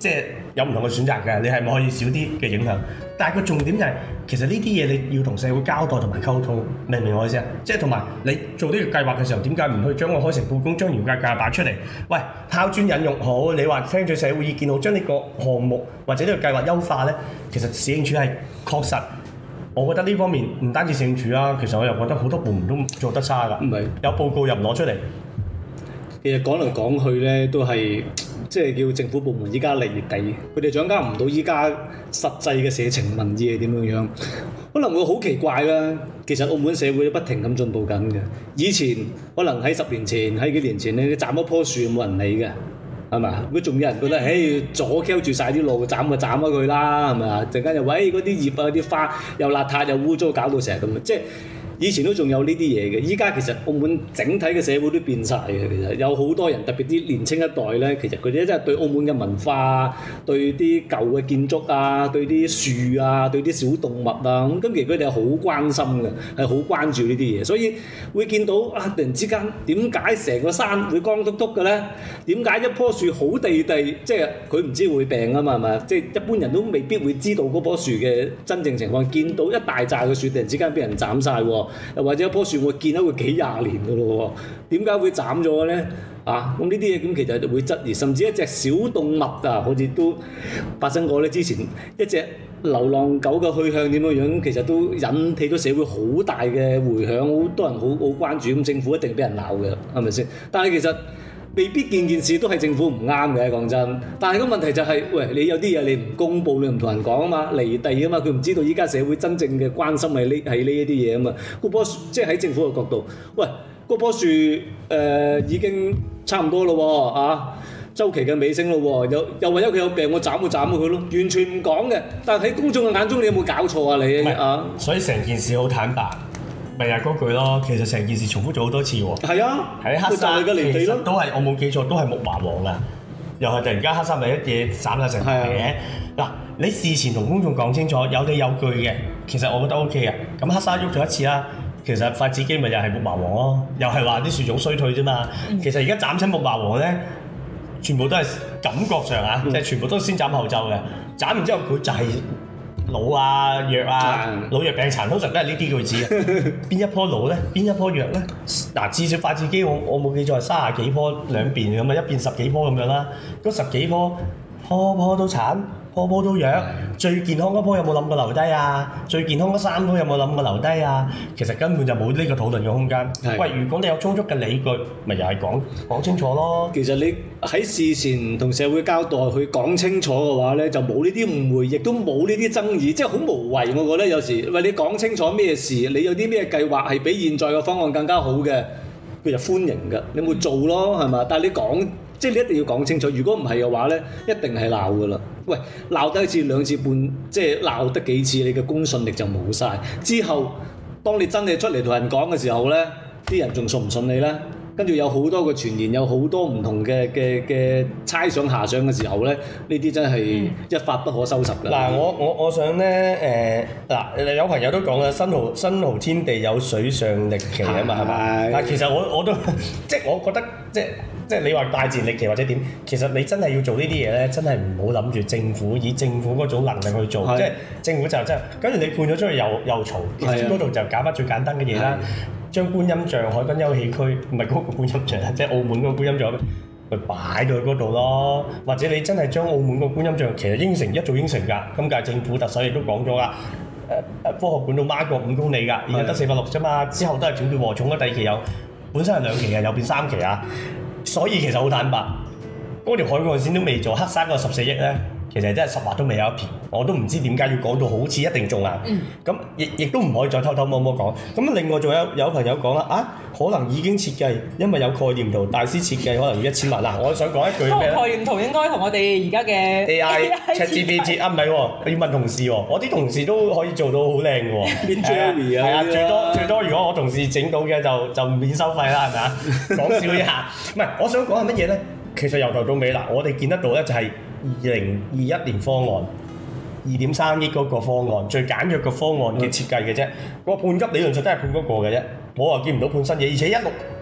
即係有唔同嘅選擇嘅，你係咪可以少啲嘅影響？但係個重點就係、是，其實呢啲嘢你要同社會交代同埋溝通，明唔明我意思啊？即係同埋你做呢個計劃嘅時候，點解唔去將個開誠佈公、將嚴格計劃擺出嚟？喂，拋磚引玉好，你話聽取社會意見好，將呢個項目或者呢個計劃優化咧，其實市政署係確實，我覺得呢方面唔單止市政署啊，其實我又覺得好多部門都做得差㗎。唔係有報告又唔攞出嚟。 其實講嚟講去咧，都係即係叫政府部門依家離地，佢哋掌握唔到依家實際嘅社情民意係點樣樣，可能會好奇怪啦。其實澳門社會都不停咁進步緊嘅。以前可能喺十年前、喺幾年前咧，你斬一棵樹冇人理嘅，係咪？如果仲有人覺得，誒阻 Q 住晒啲路，斬就斬咗佢啦，係咪啊？陣間又喂嗰啲葉啊、啲花又邋遢又污糟，搞到成日咁，即係。以前都仲有呢啲嘢嘅，依家其實澳門整體嘅社會都變晒嘅。其實有好多人，特別啲年青一代咧，其實佢哋真係對澳門嘅文化、對啲舊嘅建築啊、對啲樹啊、對啲小動物啊，咁咁其實佢哋係好關心嘅，係好關注呢啲嘢。所以會見到啊，突然之間點解成個山會光禿禿嘅咧？點解一棵樹好地地，即係佢唔知會病啊嘛，係咪？即係一般人都未必會知道嗰棵樹嘅真正情況。見到一大紮嘅樹突然之間俾人斬晒喎。又或者一棵樹我見到佢幾廿年㗎咯喎，點解會斬咗咧？啊，咁呢啲嘢咁其實會質疑，甚至一隻小動物啊，好似都發生過咧。之前一隻流浪狗嘅去向點樣樣，其實都引起咗社會好大嘅迴響，好多人好好關注。咁政府一定俾人鬧嘅，係咪先？但係其實未必件件事都係政府唔啱嘅，講真。但係個問題就係、是，喂，你有啲嘢你唔公佈，你唔同人講啊嘛，離地啊嘛，佢唔知道依家社會真正嘅關心係呢係呢一啲嘢啊嘛。嗰棵樹即係喺政府嘅角度，喂，嗰棵樹誒、呃、已經差唔多咯喎，啊，週期嘅尾聲咯喎，又又為咗佢有病，我斬就斬咗佢咯，完全唔講嘅。但係喺公眾嘅眼中，你有冇搞錯啊你啊？ 所以成件事好坦白。咪係嗰句咯，其實成件事重複咗好多次喎。係啊，喺黑沙其實都係我冇記錯，都係木麻黃啊，又係突然間黑沙咪一嘢斬晒成排嘅。嗱、啊，你事前同公眾講清楚，有理有據嘅，其實我覺得 O K 啊。咁黑沙喐咗一次啦，其實發展基咪又係木麻黃咯，又係話啲樹種衰退啫嘛。嗯、其實而家斬親木麻黃咧，全部都係感覺上啊，即係、嗯、全部都先斬後奏嘅。斬完之後佢就係、是。老啊弱啊，嗯、老弱病殘通常都係呢啲句子嘅。邊一棵老咧？邊一棵弱咧？嗱，至少發展基我我冇記錯係三十幾棵兩邊咁啊，一邊十幾棵咁樣啦。嗰十幾棵棵棵都殘，棵棵都弱。嗯、最健康嗰棵有冇諗過留低啊？最健康嗰三棵有冇諗過留低啊？其實根本就冇呢個討論嘅空間。嗯、喂，如果你有充足嘅理據，咪又係講講清楚咯。其實你喺事前同社會交代，去講清楚嘅話咧，就冇呢啲誤會，亦都冇呢啲爭議，即係好無謂。我覺得有時喂，你講清楚咩事，你有啲咩計劃係比現在嘅方案更加好嘅，佢就歡迎㗎。你冇做咯，係嘛？但係你講，即係你一定要講清楚。如果唔係嘅話咧，一定係鬧㗎啦。喂，鬧得一次兩次半，即係鬧得幾次，你嘅公信力就冇晒。之後，當你真係出嚟同人講嘅時候咧，啲人仲信唔信你咧？跟住有好多個傳言，有好多唔同嘅嘅嘅猜想遐想嘅時候咧，呢啲真係一發不可收拾㗎。嗱、嗯，我我我想咧誒嗱，有朋友都講啦，新濠新濠天地有水上歷奇啊嘛，係咪？但其實我我都即係我覺得即係即係你話大自然歷奇或者點，其實你真係要做呢啲嘢咧，真係唔好諗住政府以政府嗰種能力去做，是即係政府就真係跟住你判咗出去又又嘈，其實嗰度就搞翻最簡單嘅嘢啦。將觀音像海濱休憩區，唔係嗰個觀音像，即係澳門嗰個觀音像，咪擺到去嗰度咯。或者你真係將澳門個觀音像，其實應承一早應承㗎。今屆政府特首亦都講咗㗎。誒、呃、誒，科學館到孖國五公里㗎，而家得四百六啫嘛。之後都係轉叫禾蟲嘅第二期有，本身係兩期嘅，又變三期啊。所以其實好坦白，嗰條海岸線都未做，黑沙嗰十四億咧。其實真係十劃都未有一撇，我都唔知點解要講到好似一定中啊！咁亦亦都唔可以再偷偷摸摸講。咁另外仲有有朋友講啦，啊可能已經設計，因為有概念圖，大師設計可能要一千萬嗱。我想講一句咩咧？概念圖應該同我哋而家嘅 A I ChatGPT 啊，唔係喎，要問同事喎。我啲同事都可以做到好靚嘅喎。係啊，最多最多，如果我同事整到嘅就就免收費啦，係咪啊？講笑一下，唔係我想講係乜嘢咧？其實由頭到尾嗱，我哋見得到咧就係。二零二一年方案二點三億嗰個方案，最簡約嘅方案嘅設計嘅啫。個、嗯、判級理論上都係判嗰個嘅啫，我又見唔到判新嘢，而且一路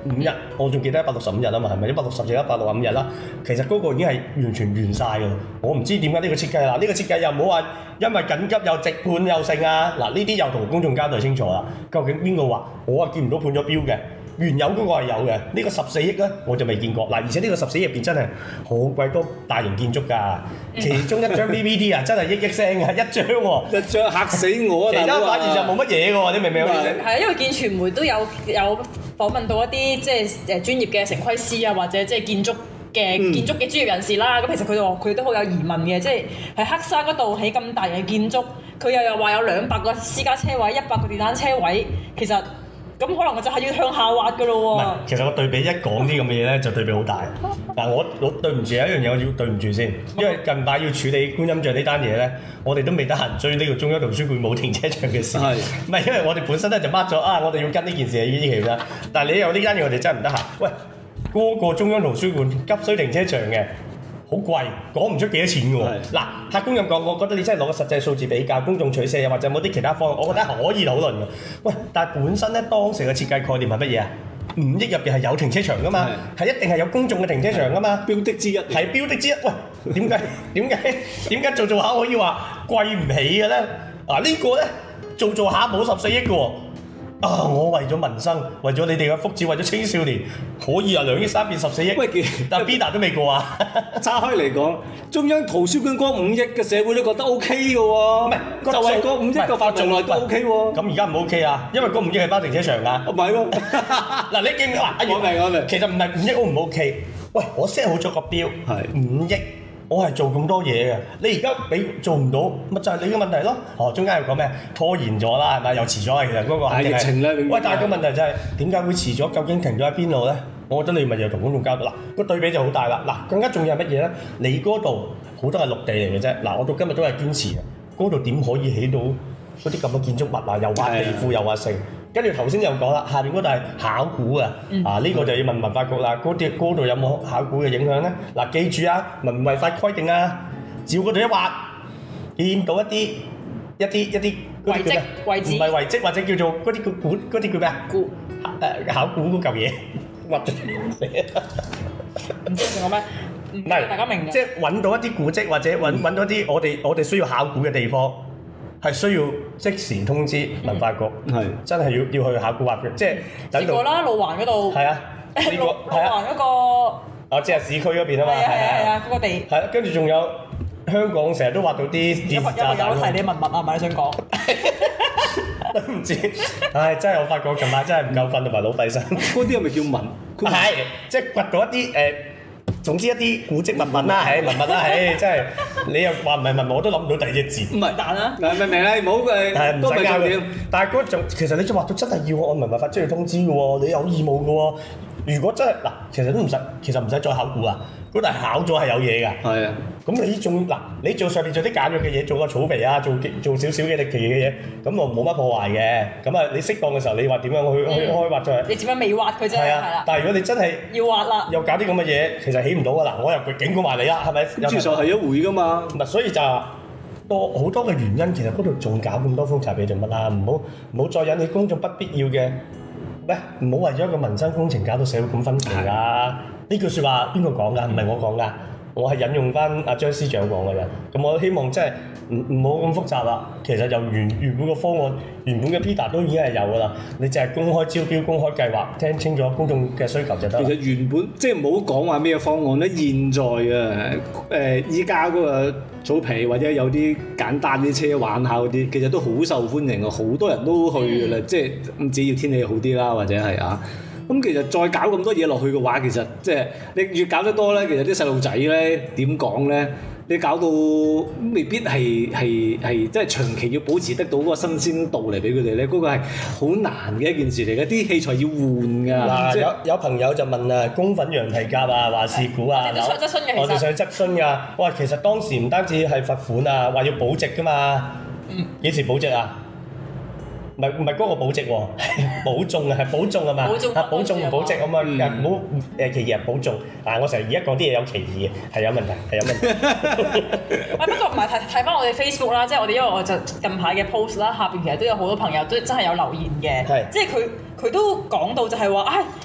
五日，我仲記得一百六十五日啊嘛，係咪一百六十至一百六十五日啦？其實嗰個已經係完全完晒㗎。我唔知點解呢個設計啦，呢、呢個設計又唔好話因為緊急又直判又剩啊！嗱，呢啲又同公眾交代清楚啦。究竟邊個話？我啊見唔到判咗標嘅。原有嗰個係有嘅，呢、呢個十四億咧我就未見過。嗱，而且呢個十四億入邊真係好鬼多大型建築㗎，其中一張 P P T 啊真係億億聲啊，一張喎、哦， 一張嚇死我啊！ 其他反而就冇乜嘢㗎喎，你明唔明啊？ 係啊，因為見傳媒都有有訪問到一啲即係誒專業嘅城規師啊，或者即係建築嘅、嗯、建築嘅專業人士啦。咁其實佢哋話佢都好有疑問嘅，即係喺黑沙嗰度起咁大型嘅建築，佢又又話有兩百個私家車位、一百個電單車位，其實。咁可能我就係要向下滑㗎咯喎。唔係， 其實我對比一講啲咁嘅嘢咧，就對比好大。嗱，我我對唔住有一樣嘢，我要對唔住先，因為近排要處理觀音像呢單嘢咧，我哋都未得閒追呢個中央圖書館冇停車場嘅事。係。唔係，因為我哋本身咧就 mark 咗啊，我哋要跟呢件事係依期啦。但係你有呢單嘢，我哋真係唔得閒。喂，嗰、那個中央圖書館急需停車場嘅。好貴，講唔出幾多錢嘅喎。嗱，客觀咁講，我覺得你真係攞個實際數字比較，公眾取捨又或者有冇啲其他方案，我覺得可以討論嘅。喂，但係本身咧當時嘅設計概念係乜嘢啊？五億入邊係有停車場噶嘛，係一定係有公眾嘅停車場噶嘛，標的之一，係標的之一。喂，點解點解點解做做下可以話貴唔起嘅咧？嗱、啊，呢個咧做做下冇十四億嘅喎。啊！我為咗民生，為咗你哋嘅福祉，為咗青少年，可以由兩億三變十四億。喂，但係 Bida 都未過啊！ 岔開嚟講，中央圖書館嗰五億嘅社會都覺得 O K 嘅喎。唔係，就係嗰五億嘅範疇內都 O K 喎。咁而家唔 O K 啊？因為嗰五億係包停車場㗎。唔係喎。嗱，你記唔記啊？我明我明。其實唔係五億 O 唔 O K？喂，我 set 好咗個標，係五億。我係做咁多嘢嘅，你而家俾做唔到，咪就係你嘅問題咯。哦，中間又講咩？拖延咗啦，係咪？又遲咗啊！其實嗰個係疫情咧。喂，但係個問題就係點解會遲咗？究竟停咗喺邊度咧？我覺得你咪又同公眾交代。嗱，個對比就好大啦。嗱，更加重要係乜嘢咧？你嗰度好多係陸地嚟嘅啫。嗱，我到今日都係堅持嘅。嗰度點可以起到嗰啲咁嘅建築物啊？又挖地庫又挖城。跟住頭先又講啦，下邊嗰度係考古啊，嗯、啊呢、這個就要問文化局啦。嗰啲嗰度有冇考古嘅影響咧？嗱、啊，記住啊，文違法規定啊，照嗰度一挖，見到一啲一啲一啲遺跡，遺址唔係遺跡或者叫做嗰啲叫古嗰啲叫咩啊？古誒考古嗰嚿嘢，挖咗唔知仲有咩？唔係大家明嘅，即係揾到一啲古蹟或者揾揾到啲我哋我哋需要考古嘅地方。係需要即時通知文化局，係、嗯、真係要要去考古挖嘅，即係等到。試過啦，路環嗰度。係啊，試過。路環嗰個。哦，即係市區嗰邊啊嘛。係啊係啊，嗰個地。係啊，跟住仲有香港成日都挖到啲電子炸彈。有提你文物啊？咪想講？都唔知，唉，真係我發覺近排真係唔夠瞓同埋腦閉塞。嗰啲係咪叫文？係，即係掘到一啲誒。呃總之一啲古蹟文物啦，係文物啦，唉，真係你又話唔係文物，我都諗唔到第二隻字。唔係但啊，明唔明啊？唔好誒，都唔係重點。但係嗰種其實你就話到真係要按文物法即係通知嘅喎，你有義務嘅喎。如果真係嗱，其實都唔使，其實唔使再考古啊。嗰度係考咗係有嘢㗎。係啊。咁你仲嗱，你做上面做啲簡約嘅嘢，做個草皮啊，做做少少嘅歷奇嘅嘢，咁我冇乜破壞嘅。咁啊，你適當嘅時候，你話點樣去去開挖出嚟？你點樣未挖佢啫？係啊。但係如果你真係要挖啦，又搞啲咁嘅嘢，其實起唔到㗎啦。我又警告埋你啦，係咪？接受係一回㗎嘛。嗱，所以就多好多嘅原因，其實嗰度仲搞咁多風茶俾做乜啦？唔好唔好再引起公眾不必要嘅。喂，唔好為咗一個民生工程搞到社會咁分歧啦！呢句説話邊個講㗎？唔係我講㗎，我係引用翻阿張司長講嘅啫。咁我希望即係唔唔好咁複雜啦。其實由原原本個方案，原本嘅 Peter 都已經係有㗎啦。你淨係公開招標、公開計劃，聽清楚公眾嘅需求就得。其實原本即係唔好講話咩方案咧，現在啊誒依家嗰個草皮或者有啲簡單啲車玩下嗰啲，其實都好受歡迎啊！好多人都去㗎啦，嗯、即係唔只要天氣好啲啦，或者係啊。咁其實再搞咁多嘢落去嘅話，其實即係你越搞得多咧，其實啲細路仔咧點講咧？你搞到未必係係係即係長期要保持得到嗰個新鮮度嚟俾佢哋咧，嗰、嗰個係好難嘅一件事嚟嘅，啲器材要換㗎。嗱、即係，有有朋友就問啊，公憤羊蹄甲啊，話事故啊，我哋想質詢嘅，我哋想質詢㗎。哇，其實當時唔單止係罰款啊，話要保值㗎嘛。嗯。幾時保值啊？唔係唔係嗰個保值喎，保重啊，係保重啊嘛，啊保重唔保值啊嘛，唔好誒歧義啊保重。嗱我成日而家講啲嘢有歧義嘅，係有問題，係有問題。喂不過唔係睇睇翻我哋 Facebook 啦，即係我哋因為我就近排嘅 post 啦，下邊其實都有好多朋友都真係有留言嘅，即係佢佢都講到就係話，唉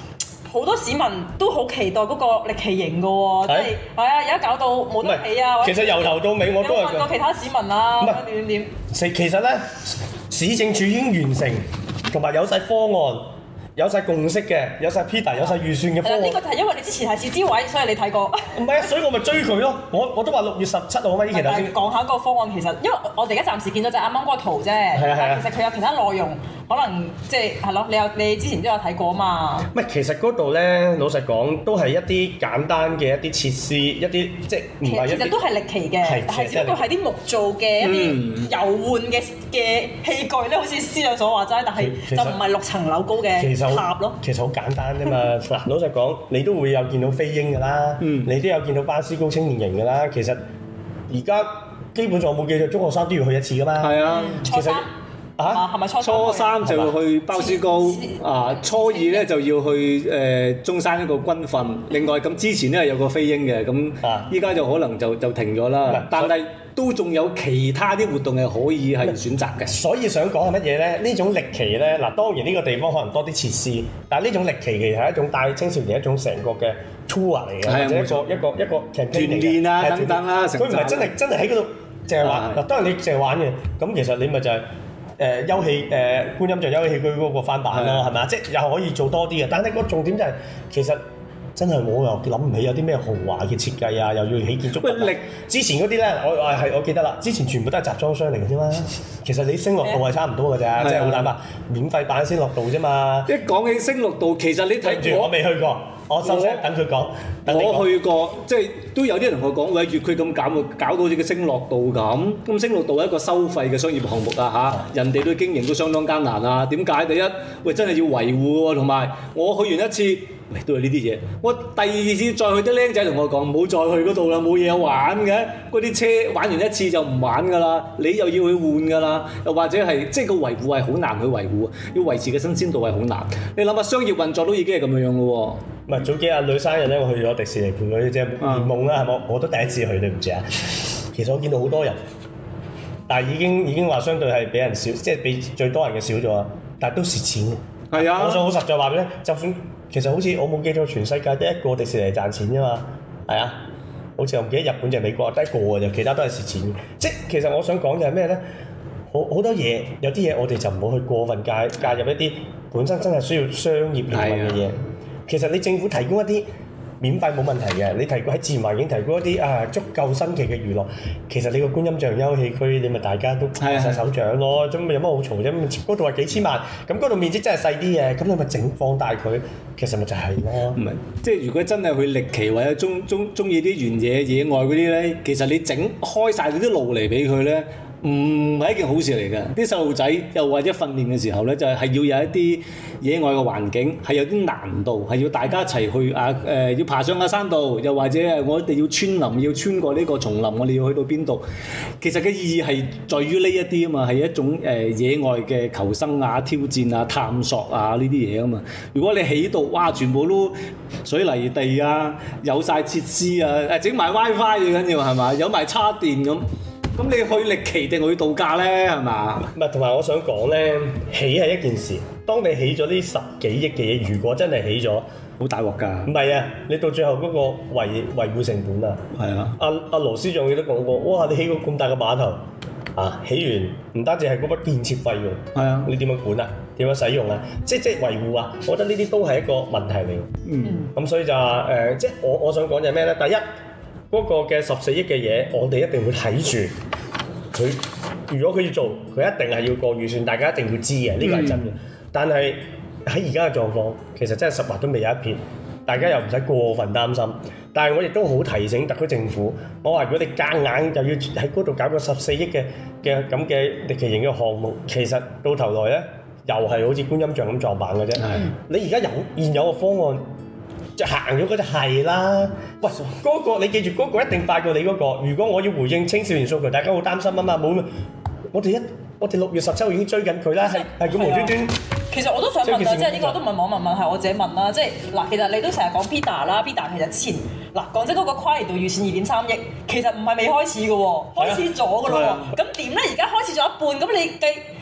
好多市民都好期待嗰個歷奇型嘅喎，即係係啊，而家搞到冇得起啊！ 其實由頭到尾我都係問過其他市民啊，點點點。 其實咧，市政署已經完成，同埋有晒方案。有晒共識嘅，有晒 Peter， 有晒預算嘅方案。呢個就係因為你之前係市諮委，所以你睇過。 唔係啊，所以我咪追佢咯。我我都話六月十七號嘛，呢期頭先。 講下個方案其實，因為我哋而家暫時見到就啱啱嗰個圖啫。係啊係啊。其實佢有其他內容，可能即係係咯，你有你之前都有睇過啊嘛。 唔係，其實嗰度咧，老實講都係一啲簡單嘅一啲設施，一啲即係唔係一啲。其實都係歷奇嘅，但係只不過係啲木造嘅一啲遊玩嘅嘅器具咧，好似司長所話齋，但係就唔係六層樓高嘅。塔咯，其實好簡單啫嘛。嗱，老實講，你都會有見到飛鷹㗎啦，嗯、你都有見到巴斯高青年營㗎啦。其實而家基本上我冇記錯，中學生都要去一次㗎嘛。係啊，其實啊，係咪初初三就要去巴斯高啊？初二咧就要去誒、呃、中山一個軍訓。另外咁之前咧有個飛鷹嘅，咁依家就可能就就停咗啦。啊、但係都仲有其他啲活動係可以係選擇嘅。所以想講係乜嘢咧？呢種歷奇咧，嗱當然呢個地方可能多啲設施，但係呢種歷奇其實係一種帶青少年一種成個嘅 tour 嚟嘅，或者一個一個一個團練啊等等啦。佢唔係真係真係喺嗰度淨係玩。嗱當然你淨係玩嘅，咁其實你咪就係、是。誒休憩誒觀音像休憩戲區嗰個翻版咯，係咪啊？即係又可以做多啲嘅，但係個重點就係、是、其實真係我又諗唔起有啲咩豪華嘅設計啊，又要起建築物。喂，之前嗰啲咧，我我係我記得啦，之前全部都係集裝箱嚟嘅啫嘛。其實你星樂道係差唔多嘅啫，即係好坦白，免費版星樂道啫嘛。一講起星樂道，其實你睇住我未去過。我收聲，等佢講。我去過，即係都有啲人同我講，喂，越區咁搞，搞到好似個星樂道咁。咁星樂道係一個收費嘅商業項目啊嚇，人哋對經營都相當艱難啊。點解？第一，喂，真係要維護喎，同埋我去完一次，喂，都係呢啲嘢。我第二次再去，啲僆仔同我講，唔好再去嗰度啦，冇嘢玩嘅。嗰啲車玩完一次就唔玩㗎啦，你又要去換㗎啦，又或者係即係個維護係好難去維護，要維持嘅新鮮度係好難。你諗下，商業運作都已經係咁樣樣咯喎。唔係早幾日女生日咧，我去咗迪士尼伴佢即係圓夢啦，係冇、嗯？我都第一次去，對唔住啊。其實我見到好多人，但係已經已經話相對係比人少，即係比最多人嘅少咗，但係都蝕錢嘅。係啊，我想好實在話俾你，就算其實好似我冇記錯，全世界得一個迪士尼賺錢啫嘛。係啊，好似我唔記得日本就係美國得一個嘅啫，其他都係蝕錢嘅。即係其實我想講嘅係咩咧？好好多嘢，有啲嘢我哋就唔好去過分介介入一啲本身真係需要商業營運嘅嘢。其實你政府提供一啲免費冇問題嘅，你提供喺自然環境提供一啲啊足夠新奇嘅娛樂，其實你個觀音像休憩區你咪大家都拍晒手掌咯，咁咪有乜好嘈啫？嗰度係幾千萬，咁嗰度面積真係細啲嘅，咁你咪整放大佢，其實咪就係咯。唔係，即係如果真係去歷奇或者中中中意啲原野野外嗰啲咧，其實你整開晒嗰啲路嚟俾佢咧。唔係一件好事嚟嘅，啲細路仔又或者訓練嘅時候咧，就係、是、要有一啲野外嘅環境，係有啲難度，係要大家一齊去啊誒、呃，要爬上個山度，又或者係我哋要穿林，要穿過呢個叢林，我哋要去到邊度？其實嘅意義係在於呢一啲啊嘛，係一種誒、呃、野外嘅求生啊、挑戰啊、探索啊呢啲嘢啊嘛。如果你起到哇，全部都水泥地啊，有晒設施啊，誒整埋 WiFi 最緊要係嘛，有埋叉電咁。咁你去歷奇定去度假咧，係嘛？唔係，同埋我想講咧，起係一件事。當你起咗呢十幾億嘅嘢，如果真係起咗，好大鑊㗎。唔係啊，你到最後嗰個維維護成本啊，係啊。阿阿羅司長亦都講過，哇！你起個咁大嘅碼頭啊，起完唔單止係嗰筆建設費用，係啊，你點樣管啊？點樣使用啊？即即維護啊？我覺得呢啲都係一個問題嚟。嗯。咁所以就話誒、呃，即我我想講就係咩咧？第一。嗰個嘅十四億嘅嘢，我哋一定會睇住佢。如果佢要做，佢一定係要過預算，大家一定要知嘅，呢個係真嘅。嗯、但係喺而家嘅狀況，其實真係十劃都未有一撇，大家又唔使過分擔心。但係我亦都好提醒特區政府，我話如果你夾硬又要喺嗰度搞個十四億嘅嘅咁嘅歷奇型嘅項目，其實到頭來咧又係好似觀音像咁撞板嘅啫。嗯、你而家有現有嘅方案。就行咗嗰就係啦，喂，嗰、嗰個你記住，嗰個一定快過你嗰、嗰個。如果我要回應青少年訴求，大家好擔心啊嘛，冇，我哋一我哋六月十七號已經追緊佢啦，係係咁無端端。其實我都想問啊，即係呢個都唔係網民問，係我自己問啦。即係嗱，其實你都成日講 Peter 啦 ，Peter 其實之前嗱講真嗰個跨年度預算二點三億，其實唔係未開始嘅喎，開始咗嘅咯喎。咁點咧？而家開始咗一半，咁你計？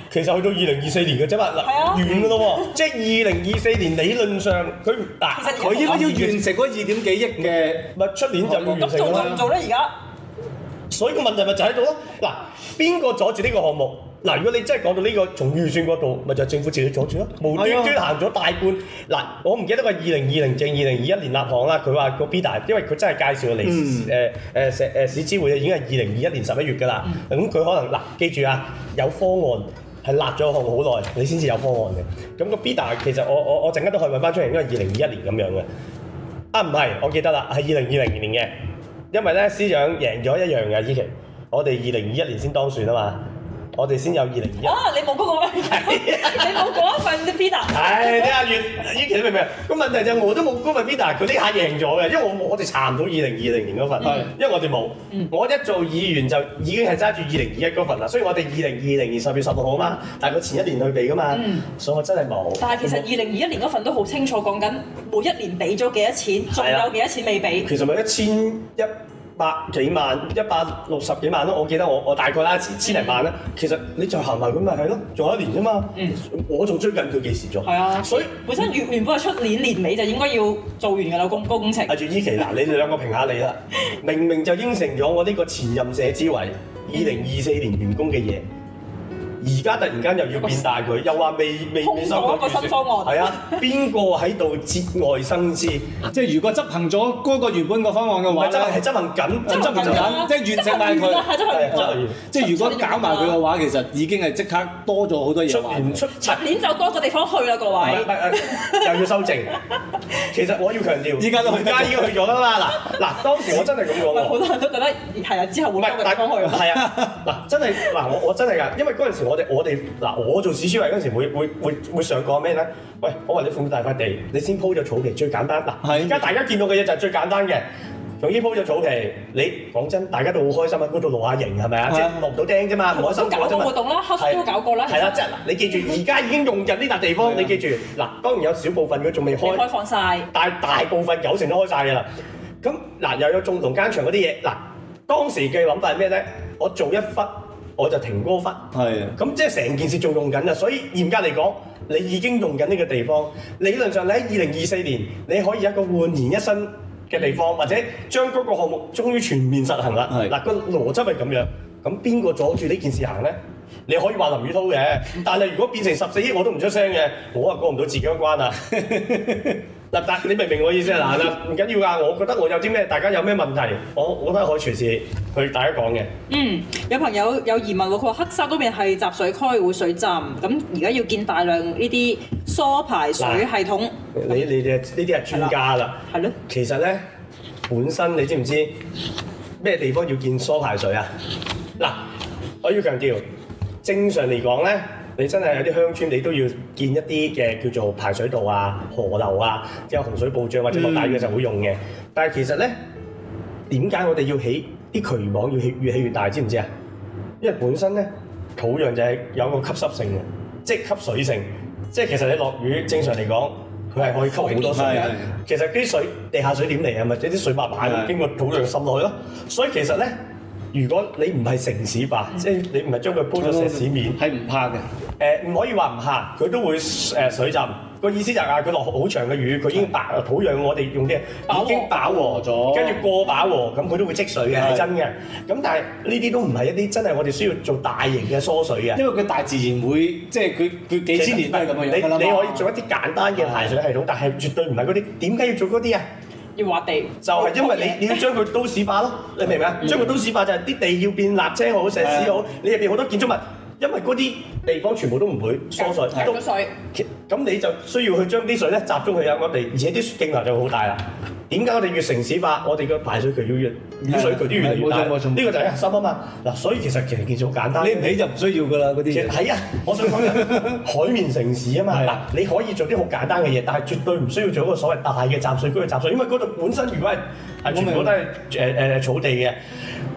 其實去到二零二四年嘅啫嘛，嗱完㗎咯喎，即係二零二四年理論上佢嗱佢應該要完成嗰二點幾億嘅， 咪出年就要完成啦。 咁做唔做咧？而家？ 所以個問題咪就喺度咯。嗱，邊個阻住呢個項目？嗱，如果你真係講到呢個從預算嗰度，咪就係政府自己阻住咯，無端端行咗大半。嗱，我唔記得個二零二零定二零二一年立項啦。佢話個 B 大，因為佢真係介紹嚟誒誒誒誒市諮會已經係二零二一年十一月㗎啦。咁佢可能嗱，記住啊，有方案係立咗項目好耐，你先至有方案嘅。咁個 B 大其實我我我陣間都可以揾翻出嚟，應該係二零二一年咁樣嘅。啊，唔係，我記得啦，係二零二零年嘅，因為咧司長贏咗一樣嘅依期，我哋二零二一年先當選啊嘛。我哋先有二零二一。啊！ 你冇嗰個咩？你冇嗰一份 Peter。係， 你阿月依期你明唔明？個問題就係我都冇嗰份 Peter，佢呢下贏咗嘅，因為我我哋查唔到二零二零年嗰份，嗯、因為我哋冇。嗯、我一做議員就已經係揸住二零二一嗰份啦，所以我哋二零二零年十月十六號啊嘛，但係佢前一年去俾噶嘛，嗯、所以我真係冇。 但係其實二零二一年嗰份都好清楚講緊，每一年俾咗幾多錢，仲有幾多錢未俾。 其實咪一千一百幾萬，一百六十幾萬咯，我記得我我大概啦，千千零萬啦。嗯、其實你就行埋咁咪係咯，仲有一年啫嘛。嗯，我仲追緊佢幾時做？係啊，所以本身原原本係出年年尾就應該要做完㗎啦，工工程。 阿住依期嗱，你哋兩個評下你啦。明明就應承咗我呢個前任社諮委二零二四年完工嘅嘢。而家突然間又要變大佢，又話未未未收到個新方案。 係啊，邊個喺度節外生枝？ 即係如果執行咗嗰個原本個方案嘅話， 唔係執行係執行緊， 執行緊，即係完成埋佢。即係如果搞埋佢嘅話，其實已經係即刻多咗好多嘢。 出年出出年就多個地方去啦，各位。 又要修正。其實我要強調， 依家都去， 而家已經去咗啦嘛。嗱嗱，當時我真係咁講喎。 好多人都覺得係啊，之後會多個地方去。 係啊，嗱真係嗱，我我真係㗎，因為嗰陣時我哋我哋嗱，我做市諮委嗰陣時會會會會上講咩咧？喂，我話你放大塊地，你先鋪咗草皮最簡單。嗱，而家大家見到嘅嘢就係最簡單嘅，仲要鋪咗草皮，你講真，大家都好開心喺嗰度露下營係咪啊？即係落唔到釘啫嘛，唔開心搞過活動啦，黑都搞過啦。 係啦，即係嗱，你記住，而家已經用緊呢笪地方，你記住嗱，當然有少部分佢仲未開， 開放晒， 但係大部分九成都開晒㗎啦。咁嗱，又有種同間場嗰啲嘢，嗱，當時嘅諗法係咩咧？我做一忽。我就停嗰忽，係啊，咁即係成件事仲用緊啊！所以嚴格嚟講，你已經用緊呢個地方。理論上你喺二零二四年，你可以有一個煥然一新嘅地方，或者將嗰個項目終於全面實行啦。嗱，個邏輯係咁樣，咁邊個阻住呢件事行咧？你可以話林宇滔嘅，但係如果變成十四億我都唔出聲嘅，我啊過唔到自己嗰關啊！嗱，但你明唔明我意思啊？嗱嗱，唔緊要㗎，我覺得我有啲咩，大家有咩問題，我我覺得可以隨時去大家講嘅。 嗯，有朋友有疑問喎，佢話黑沙嗰邊係集水區會水浸，咁而家要建大量呢啲疏排水系統。 你你哋呢啲係專家啦。 係咯。 其實咧，本身你知唔知咩地方要建疏排水啊？嗱，我要強調，正常嚟講咧。你真係有啲鄉村，你都要建一啲嘅叫做排水道啊、河流啊，即係洪水暴漲或者落大雨嘅時候會用嘅。嗯、但係其實咧，點解我哋要起啲渠網要起越起越大？知唔知啊？因為本身咧土壤就係有個吸濕性嘅，即係吸水性。即係其實你落雨正常嚟講，佢係可以吸好多水嘅。其實啲水地下水點嚟啊？咪即係啲水慢慢經過土壤滲落去咯。所以其實咧。如果你唔係城市化，嗯、即係你唔係將佢鋪咗石屎面， 係唔怕嘅。誒、 呃，唔可以話唔怕，佢都會誒、呃、水浸。個意思就係佢落好長嘅雨，佢已經飽土壤，我哋用啲已經飽和咗，跟住過飽和，咁佢都會積水嘅，係真嘅。咁但係呢啲都唔係一啲真係我哋需要做大型嘅疏水嘅， 因為佢大自然會即係佢佢幾千年都係咁樣。你你可以做一啲簡單嘅排水系統，但係絕對唔係嗰啲。點解要做嗰啲啊？ 要挖地， 就係因為你你要將佢都市化咯，你明唔明啊？將佢都市化就係啲地要變瀝青好、石屎好，你入邊好多建築物，因為嗰啲地方全部都唔會疏水， 係咗水， 咁你就需要去將啲水咧集中去有個地，而且啲徑流就會好大啦。點解我哋越城市化，我哋嘅排水渠要越雨水渠都越嚟越大？呢個就係核心啊嘛。嗱，所以其實其實件事好簡單， 你唔起就唔需要噶啦嗰啲。 係啊，我想講嘅海綿城市啊嘛。嗱，你可以做啲好簡單嘅嘢，但係絕對唔需要做一個所謂大嘅集水區嘅集水，因為嗰度本身如果係係全部都係誒誒草地嘅。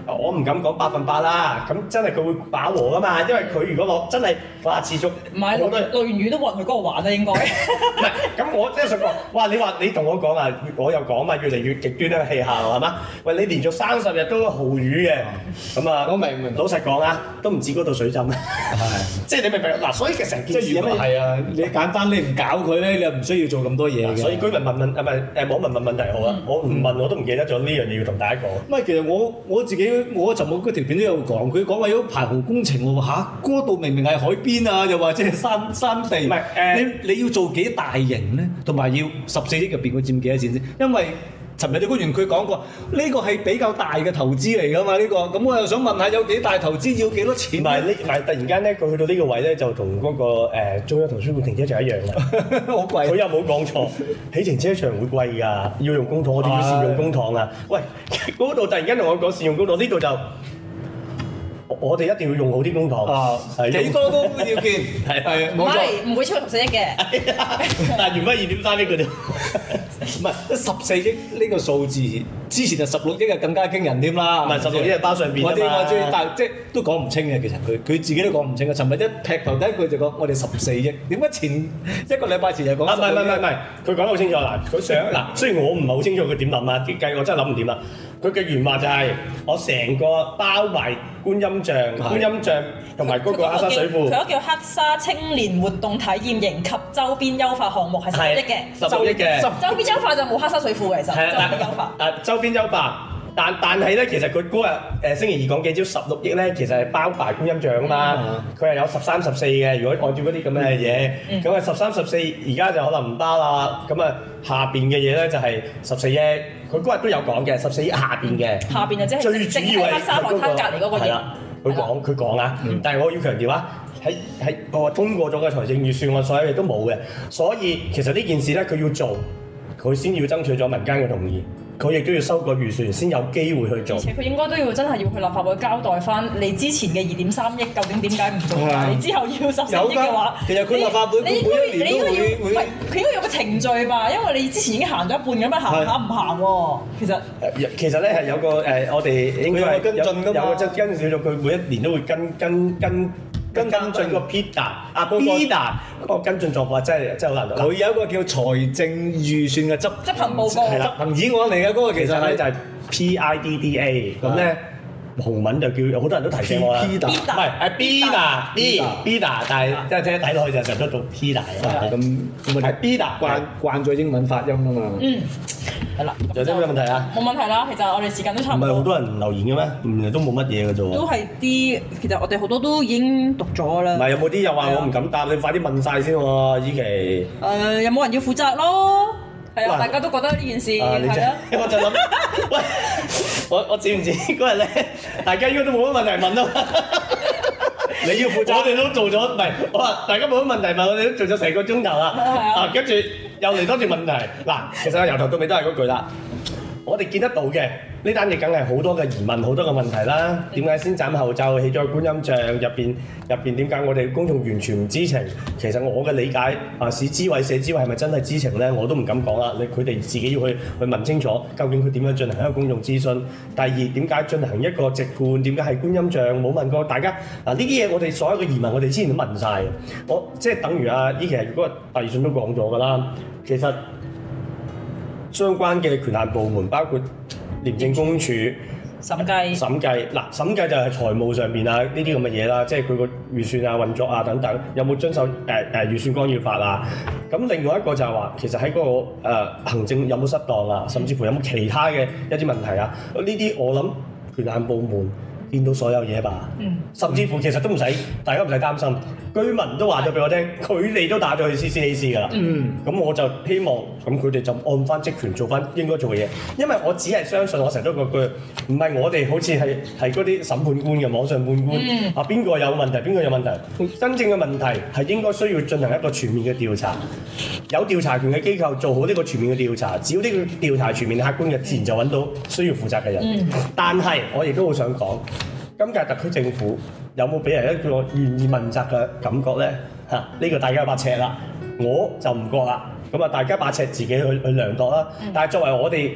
我唔敢講百分百啦，咁真係佢會飽和噶嘛，因為佢如果落真係話持續， 唔係落落完雨都冇人去嗰度玩啦，應該。唔係， 咁我即係想講，哇！你話你同我講啊，我又講嘛，越嚟越極端啦，氣候係嘛？喂，你連續三十日都豪雨嘅，咁啊，我明明老實講啊，都唔止嗰度水浸啊，係，即係你明唔明？嗱，所以其實成件事係啊，你簡單你唔搞佢咧，你又唔需要做咁多嘢嘅。 所以居民問問啊，唔係誒網民問問題好啦，我唔問我都唔記得咗呢樣嘢要同大家講。 唔係，其實我我自己我尋日嗰條片都有講，佢講話有排洪工程喎嚇，嗰度明明係海邊啊，又或者係山山地，唔係誒，你你要做幾大型咧？同埋要十四億入邊佢佔幾多錢先？因為尋日啲官員佢講過，呢個係比較大嘅投資嚟㗎嘛，呢個咁我又想問下有幾大投資要幾多錢？ 唔係呢，唔係突然間咧，佢去到呢個位咧，就同嗰個誒中央圖書館停車場一樣啦， 好貴。佢又冇講錯，起停車場會貴㗎，要用公帑，我哋要善用公帑啊！喂，嗰度突然間同我講善用公帑，呢度就。我哋一定要用好啲公帑， 啊，幾多都要見，係係冇錯， 唔會超過十四億嘅， 但係原本二點三億嘅啫， 唔係十四億呢個數字，之前就十六億係更加驚人添啦， 唔係十六億係包上邊我知我知，但係即係都講唔清嘅，其實佢佢自己都講唔清嘅。尋日一劈頭第一句就講我哋十四億，點解前一個禮拜前就講？ 啊唔係唔係唔係，佢講得好清楚嗱，佢想嗱，雖然我唔係好清楚佢點諗啊，啲計我真係諗唔掂啦。佢嘅原話就係我成個包埋觀音像、觀音像同埋嗰個黑沙水庫。 佢嗰叫黑沙青年活動體驗營及周邊優化項目係十億嘅， 十六億嘅。 周邊優化就冇黑沙水庫嘅，其實。係啊，周邊優化。 啊，周邊優化，但但係咧，其實佢嗰日誒星期二講幾招十六億咧，其實係包埋觀音像啊嘛。佢係有十三十四嘅，如果按照嗰啲咁嘅嘢，咁啊十三十四而家就可能唔包啦。咁啊下邊嘅嘢咧就係十四億。佢嗰日都有講嘅，十四億下邊嘅， 下邊啊，即係最主要係黑沙海灘隔離嗰個嘢。 佢講佢講啊，但係我要強調啊，喺喺我通過咗嘅財政預算案，所有嘢都冇嘅，所以其實呢件事咧，佢要做，佢先要爭取咗民間嘅同意。佢亦都要修改預算，先有機會去做。 而且佢應該都要真係要去立法會交代翻你之前嘅二點三億究竟點解唔做？你之後要十四億嘅話， 其實佢立法會你每一年都會會， 佢應該有個程序吧？因為你之前已經行咗一半咁樣行下唔行喎？其實其實咧係有個誒，我哋應該係跟進㗎嘛， 有個跟跟少咗，佢每一年都會跟跟跟。跟跟進個 P D A 啊 P D A 嗰個跟進狀況真係真係好難。 佢有一個叫財政預算嘅執執行報告， 執行議案嚟嘅嗰個其實咧就係 P I D D A 咁咧。紅文就叫好多人都提醒我啦，唔係係 B 打 B B 打，但係即係聽睇落去就成日都讀 P 打嘅，咁咁係 B 打慣慣咗英文發音啊嘛。 嗯，係啦。 有啲咩問題啊？ 冇問題啦，其實我哋時間都差唔多。 唔係好多人留言嘅咩？唔係都冇乜嘢嘅啫喎。 都係啲，其實我哋好多都已經讀咗啦。 唔係有冇啲又話我唔敢答？你快啲問曬先喎，依期。 誒，有冇人要負責咯？係啊，大家都覺得呢件事係啊。 我就諗，喂，我我知唔知嗰日咧，大家應該都冇乜問題問咯。你要負責，我哋都做咗，唔係我話大家冇乜問題問，我哋都做咗成個鐘頭啦。啊，跟住又嚟多條問題。嗱，其實由頭到尾都係嗰句啦。我哋見得到嘅呢單嘢，梗係好多嘅疑問，好多嘅問題啦。點解先斬後奏起咗觀音像入邊？入邊點解我哋公眾完全唔知情？其實我嘅理解啊，市諮委、社諮委係咪真係知情咧？我都唔敢講啦。你佢哋自己要去去問清楚，究竟佢點樣進行一個公眾諮詢？第二，點解進行一個直判？點解係觀音像冇問過大家？嗱，呢啲嘢我哋所有嘅疑問，我哋之前都問晒。我即係等於啊，依期如果第二信都講咗㗎啦。其實相關嘅權限部門包括廉政公署審計審計嗱，審計就係財務上邊啊呢啲咁嘅嘢啦，即係佢個預算啊、運作啊等等，有冇遵守誒誒、呃、預算干預法啊？咁另外一個就係話，其實喺嗰、那個、呃、行政有冇失當啊，甚至乎有冇其他嘅一啲問題啊？呢啲我諗權限部門見到所有嘢吧，嗯、甚至乎其實都唔使，大家唔使擔心。居民都話咗俾我聽，佢哋都打咗去 C C A C 㗎啦。咁、嗯、我就希望咁佢哋就按翻職權做翻應該做嘅嘢，因為我只係相信我成日都嗰句，唔係我哋好似係係嗰啲審判官嘅網上判官、嗯、啊，邊個有問題，邊個有問題？真正嘅問題係應該需要進行一個全面嘅調查，有調查權嘅機構做好呢個全面嘅調查，只要呢個調查全面客觀嘅，自然就揾到需要負責嘅人。嗯、但係我亦都好想講。今屆特區政府有冇俾人一個願意問責嘅感覺咧？嚇、啊，呢、這個大家有把尺啦，我就唔覺啦。咁啊，大家把尺自己去去量度啦。嗯、但係作為我哋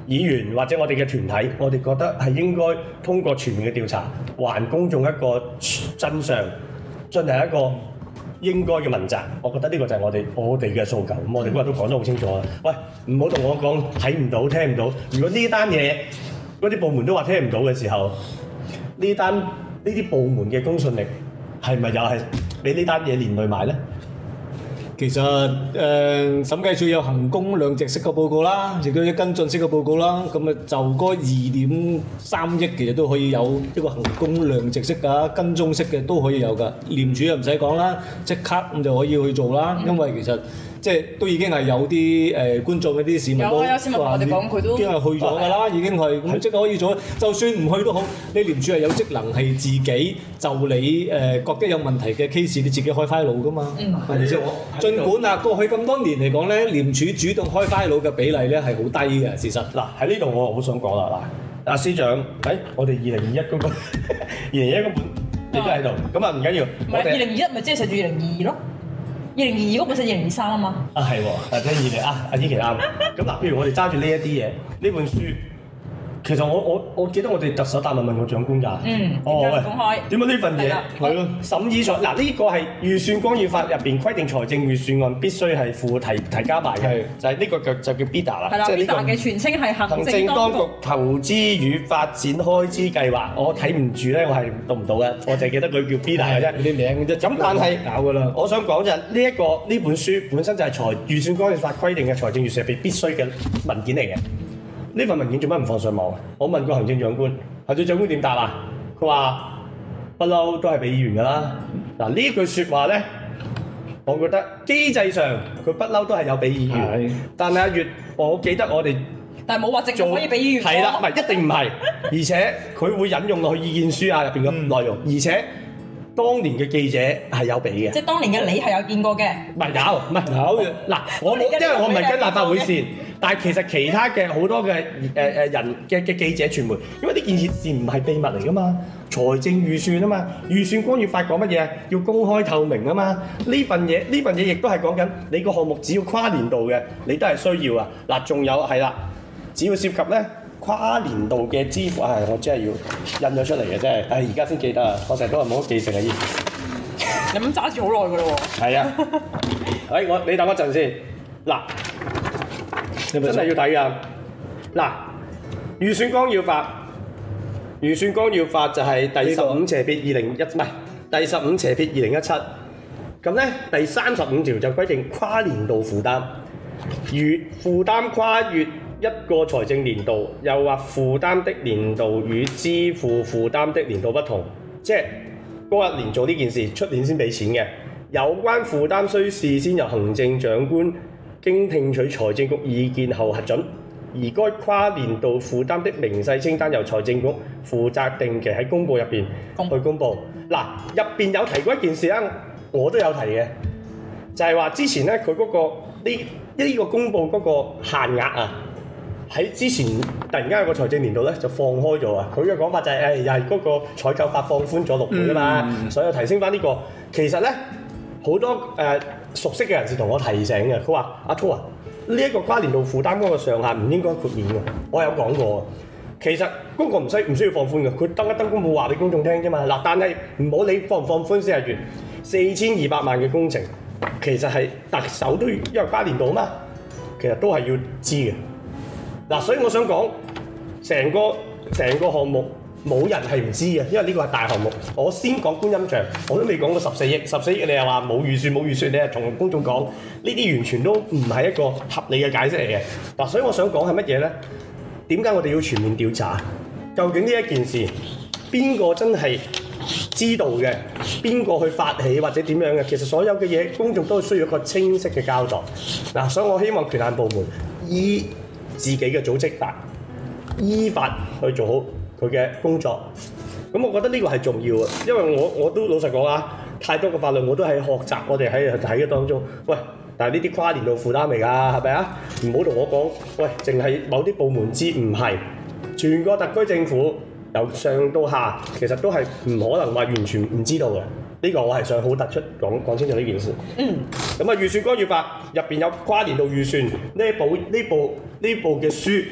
議員或者我哋嘅團體，我哋覺得係應該通過全面嘅調查，還公眾一個真相，進行一個應該嘅問責。我覺得呢個就係我哋我哋嘅訴求。咁我哋今日都講得好清楚啦。喂，唔好同我講睇唔到、聽唔到。如果呢單嘢嗰啲部門都話聽唔到嘅時候，呢單呢啲部門嘅公信力係咪又係俾呢單嘢連累埋咧？ 其實誒、呃、審計署有衡工量值式嘅報告啦，亦都有跟進式嘅報告啦。咁啊就嗰二點三億其實都可以有一個衡工量值式㗎，跟蹤式嘅都可以有㗎。廉署又唔使講啦，即刻咁就可以去做啦。因為其實即係都已經係有啲誒、呃、觀眾嗰啲市民都話，我哋講佢都已經係去咗㗎啦，已經係咁即刻可以做。就算唔去都好，你廉署係有職能係自己就你誒、呃、覺得有問題嘅 case，你自己開 file 㗎嘛。嗯，係咪先？儘管啊，過去咁多年嚟講咧，廉署主動開 file 嘅比例咧係好低嘅。事實嗱喺呢度我好想講啦，嗱，阿司長，誒、哎，我哋二零二一嗰個二零二一嗰本你都喺度，咁啊唔緊要。唔係二零二一咪即係寫住二零二二咯？二零二二嗰本寫二零二三啊嘛。啊係喎，或者二零啊，阿依琪啱。咁嗱，譬如我哋揸住呢一啲嘢，呢本書。其實我我我記得我哋特首答問問過長官㗎。嗯。哦喂。公開。點解呢份嘢？係咯。審議上嗱呢個係預算干預法入邊規定財政預算案必須係附提提交埋嘅，就係呢個就就叫 B I D A 啦。係啦。B I D A 嘅全稱係行政當局投資與發展開支計劃。我睇唔住咧，我係讀唔到嘅，我淨係記得佢叫 B I D A 嘅啫。啲名啫。咁但係搞㗎啦。我想講就係呢一個呢本書本身就係財預算干預法規定嘅財政預算入邊必須嘅文件嚟嘅。呢份文件做乜唔放上網？我問過行政長官，行政長官點答啊？佢話不嬲都係俾議員㗎啦。嗱呢句説話咧，我覺得機制上佢不嬲都係有俾議員，是但係阿月，我記得我哋但係冇話直接可以俾議員。係啦，唔係一定唔係，而且佢會引用落去意見書啊入邊嘅內容，嗯、而且當年嘅記者係有俾嘅。即係當年嘅你係有見過嘅？唔係有，唔係有。嗱我冇，因為我唔係跟立法會線。但係其實其他嘅好多嘅誒誒人嘅嘅記者傳媒，因為呢件事唔係秘密嚟噶嘛，財政預算啊嘛，預算干預法講乜嘢？要公開透明啊嘛，呢份嘢呢份嘢亦都係講緊你個項目只要跨年度嘅，你都係需要啊。嗱，仲有係啦，只要涉及咧跨年度嘅支付，係、哎、我真係要印咗出嚟嘅，真係，唉而家先記得啊，我成日都話冇乜記性啊，依你咁揸住好耐㗎咯喎。係啊，誒我你等我陣先，嗱。真係要睇㗎，嗱預算綱要法，預算綱要法就係第十五斜撇二零一，唔係第十五斜撇二零一七，咁咧第三十五條就規定跨年度負擔，如負擔跨越一個財政年度，又或負擔的年度與支付負擔的年度不同，即係嗰一年做呢件事，出年先俾錢嘅，有關負擔須事先由行政長官經聽取財政局意見後核准，而該跨年度負擔的明細清單由財政局負責定期喺公佈入邊去公佈。嗱，入邊有提過一件事啦，我都有提嘅，就係話之前咧佢嗰個呢呢個公佈嗰個限額啊，喺之前突然間有個財政年度咧就放開咗啊！佢嘅講法就係誒又係嗰個採購法放寬咗六倍啊嘛，嗯、所以提升翻呢個。其實咧好多誒。呃熟悉嘅人士同我提醒嘅，佢話：阿滔啊，呢一個跨年度負擔嗰個上限唔應該豁免嘅。我有講過，其實嗰個唔需唔需要放寬嘅，佢登一登公佈話俾公眾聽啫嘛。嗱，但係唔好理放唔放寬先係完，四千二百萬嘅工程，其實係特首都要因為跨年度啊嘛，其實都係要知嘅。嗱，所以我想講，成個成個項目。冇人係唔知嘅，因為呢個係大項目。我先講觀音像，我都未講過十四億，十四億你又話冇預算冇預算，你又同公眾講呢啲完全都唔係一個合理嘅解釋嚟嘅。嗱，所以我想講係乜嘢呢？點解我哋要全面調查？究竟呢一件事邊個真係知道嘅？邊個去發起或者點樣嘅？其實所有嘅嘢公眾都需要一個清晰嘅交代。嗱，所以我希望權限部門依自己嘅組織法，依法去做好佢嘅工作，咁我覺得呢個係重要嘅，因為我我都老實講啊，太多嘅法律我都喺學習，我哋喺睇嘅當中。喂，但係呢啲跨年度負擔嚟㗎，係咪啊？唔好同我講，喂，淨係某啲部門知，唔係全個特區政府由上到下，其實都係唔可能話完全唔知道嘅。呢個我係想好突出講講清楚呢件事。嗯。咁啊，預算干預法入邊有跨年度預算呢部呢部呢部嘅書。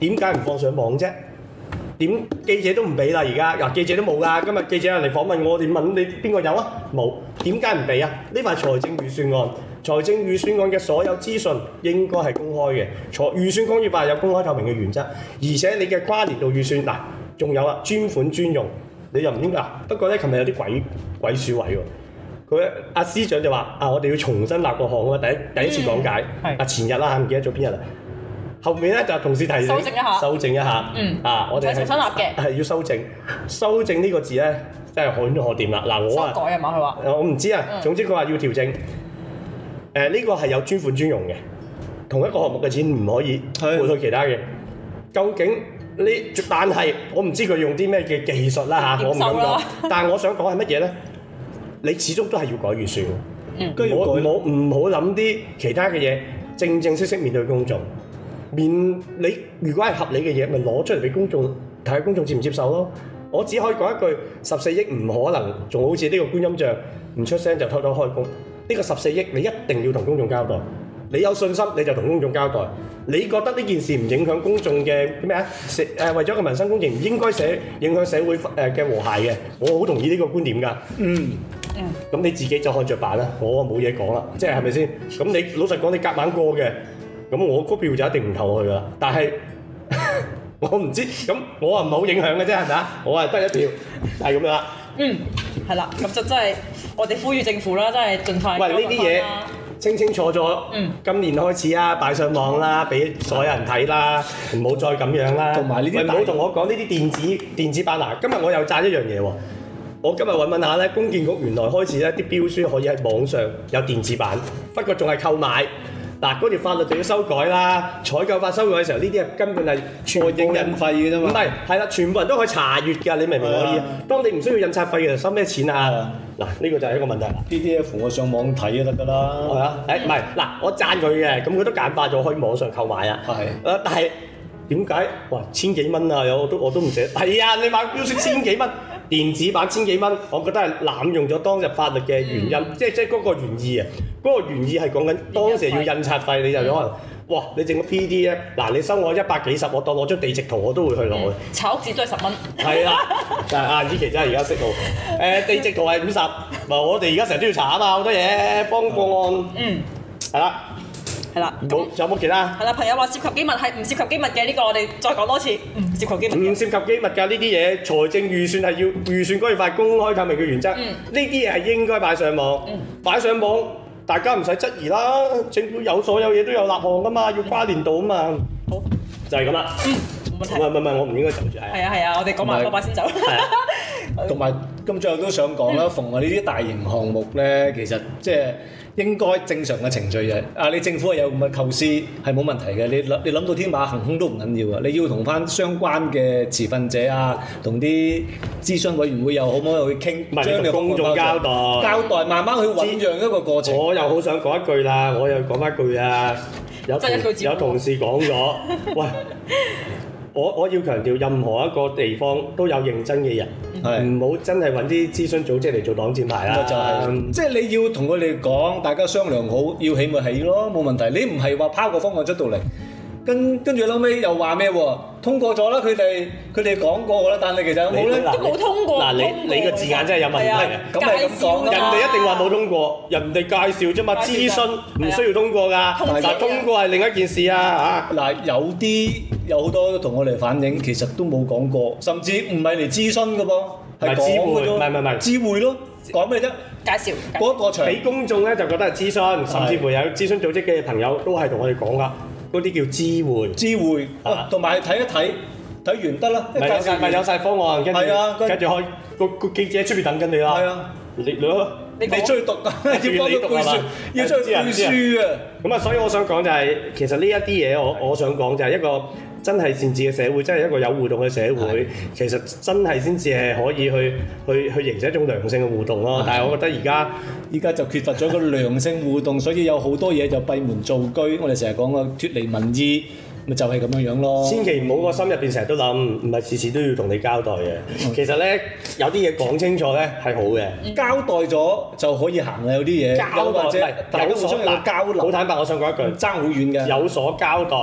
點解唔放上網啫？點記者都唔俾啦，而家嗱記者都冇㗎。今日記者人嚟訪問我哋，問你邊個有啊？冇。點解唔俾啊？呢塊財政預算案，財政預算案嘅所有資訊應該係公開嘅。財預算講要話有公開透明嘅原則，而且你嘅跨年度預算嗱，仲有啊專款專用，你又唔應該嗱。不過咧，琴日有啲鬼鬼鼠位喎。佢阿司長就話啊，我哋要重新立個項啊，第一第一次講解。係、嗯。啊前日啦，唔記得咗邊日啦。後面咧就同事提醒，修正一下，修正一下，嗯，啊，我哋係重新立嘅，係要修正，修正呢個字咧真係可可掂啦。嗱，我啊，修改啊嘛，佢話，我唔知啊，總之佢話要調整，誒呢個係有專款專用嘅，同一個項目嘅錢唔可以換去其他嘅。究竟呢？但係我唔知佢用啲咩嘅技術啦嚇，我唔敢講。但係我想講係乜嘢咧？你始終都係要改預算，嗯，我我唔好諗啲其他嘅嘢，正正式式面對公眾。面你如果係合理嘅嘢，咪攞出嚟俾公眾睇下，公眾接唔接受咯？我只可以講一句，十四億唔可能，仲好似呢個觀音像唔出聲就偷偷開工。呢個十四億你一定要同公眾交代，你有信心你就同公眾交代。你覺得呢件事唔影響公眾嘅咩啊？誒、呃、為咗個民生工程唔應該社影響社會誒嘅和諧嘅，我好同意呢個觀點㗎。嗯嗯，咁你自己就看着辦啦，我冇嘢講啦，即係係咪先？咁你老實講，你夾硬過嘅。咁我嗰票就一定唔投佢噶啦，但係我唔知，咁我啊唔係好影響嘅啫，係咪啊？我係得一票，係咁樣啦。嗯，係啦，咁就真係我哋呼籲政府啦，真係盡快。喂，呢啲嘢清清楚楚，嗯，今年開始啊，擺上網啦，俾所有人睇啦，唔好再咁樣啦。同埋呢啲，唔好同我講呢啲電子電子版嗱。今日我又讚一樣嘢喎，我今日揾問下咧，公建局原來開始咧啲標書可以喺網上有電子版，不過仲係購買。嗱，嗰條法律就要修改啦。採購法修改嘅時候，呢啲係根本係全部印費嘅啫嘛。唔係，係啦，全部人都可以查閲㗎，你明唔明我意思？當你唔需要印刷費嘅時候，收咩錢啊？嗱，呢個就係一個問題。P D F 我上網睇就得㗎啦。係啊，誒唔係，嗱，我讚佢嘅，咁佢都簡化咗，可以網上購買啊。係。誒，但係點解？哇，千幾蚊啊！有我都我都唔捨。係啊，你買標書千幾蚊，電子版千幾蚊，我覺得係濫用咗當日法律嘅原因，嗯、即係即係嗰個原意啊。嗰個原意係講緊當時要印刷費，你就可能，哇！你整個 P D 咧，嗱你收我一百幾十，我當攞張地籍圖我都會去攞嘅。炒屋紙都係十蚊。係啦，但係阿依琪真係而家識路。誒地籍圖係五十，嗱我哋而家成日都要查啊嘛，好多嘢幫個案。嗯，係啦，係啦。冇，仲有冇其他？係啦，朋友話涉及機密係唔涉及機密嘅呢個，我哋再講多次，唔涉及機密。唔涉及機密㗎，呢啲嘢財政預算係要預算嗰一塊公開透明嘅原則。呢啲嘢係應該擺上網，擺上網。大家唔使質疑啦，政府有所有嘢都有立項噶嘛，要跨年度啊嘛。好，就係咁啦。嗯，冇問題。唔係唔係，我唔應該走住。係啊係啊，我哋講埋嗰把先走。係啊。同埋咁最後都想講啦，逢係呢啲大型項目咧，其實即係應該正常嘅程序嘅。啊，你政府係有咁嘅構思係冇問題嘅。你諗你諗到天馬行空都唔緊要啊。你要同翻相關嘅持份者啊，同啲諮詢委員會又好唔好去傾，將你公眾交代，交代慢慢去醖釀一個過程。我又好想講一句啦，我又講翻句啊，有同有同事講咗，喂。我我要強調，任何一個地方都有認真嘅人，唔好、嗯、真係揾啲諮詢組織嚟做擋箭牌啦。就係，即係你要同佢哋講，大家商量好，要起咪起咯，冇問題。你唔係話拋個方案出到嚟，跟跟住後尾又話咩喎？通過咗啦，佢哋佢哋講過啦，但係其實有冇咧？都冇通過。嗱，你你個字眼真係有問題。咁係咁講，人哋一定話冇通過，人哋介紹啫嘛，諮詢唔需要通過㗎。嗱，通過係另一件事啊嚇。嗱，有啲有好多都同我哋反映，其實都冇講過，甚至唔係嚟諮詢㗎噃，係講㗎啫。唔係唔係唔係，知會咯，講咩啫？介紹嗰個場俾公眾咧，就覺得係諮詢，甚至乎有諮詢組織嘅朋友都係同我哋講㗎。嗰啲叫知會，知會，同埋睇一睇，睇完得啦。咪有曬，咪有曬方案，跟住跟住開個個記者喺出邊等緊你啦。係啊，你攞你追讀啊，要幫佢背書，要追背書啊。咁啊，所以我想講就係，其實呢一啲嘢，我我想講就係一個真係善治嘅社會，真係一個有互動嘅社會。其實真係先至係可以去去去形成一種良性嘅互動咯。但係我覺得而家依家就缺乏咗個良性互動，所以有好多嘢就閉門造車。我哋成日講個脫離民意，咪就係咁樣樣咯。千祈唔好個心入邊成日都諗，唔係事事都要同你交代嘅。嗯、其實咧，有啲嘢講清楚咧係好嘅，嗯、交代咗就可以行啦。有啲嘢交代或者大家互相有交流。好坦白，我想講一句，爭好遠嘅。有所交代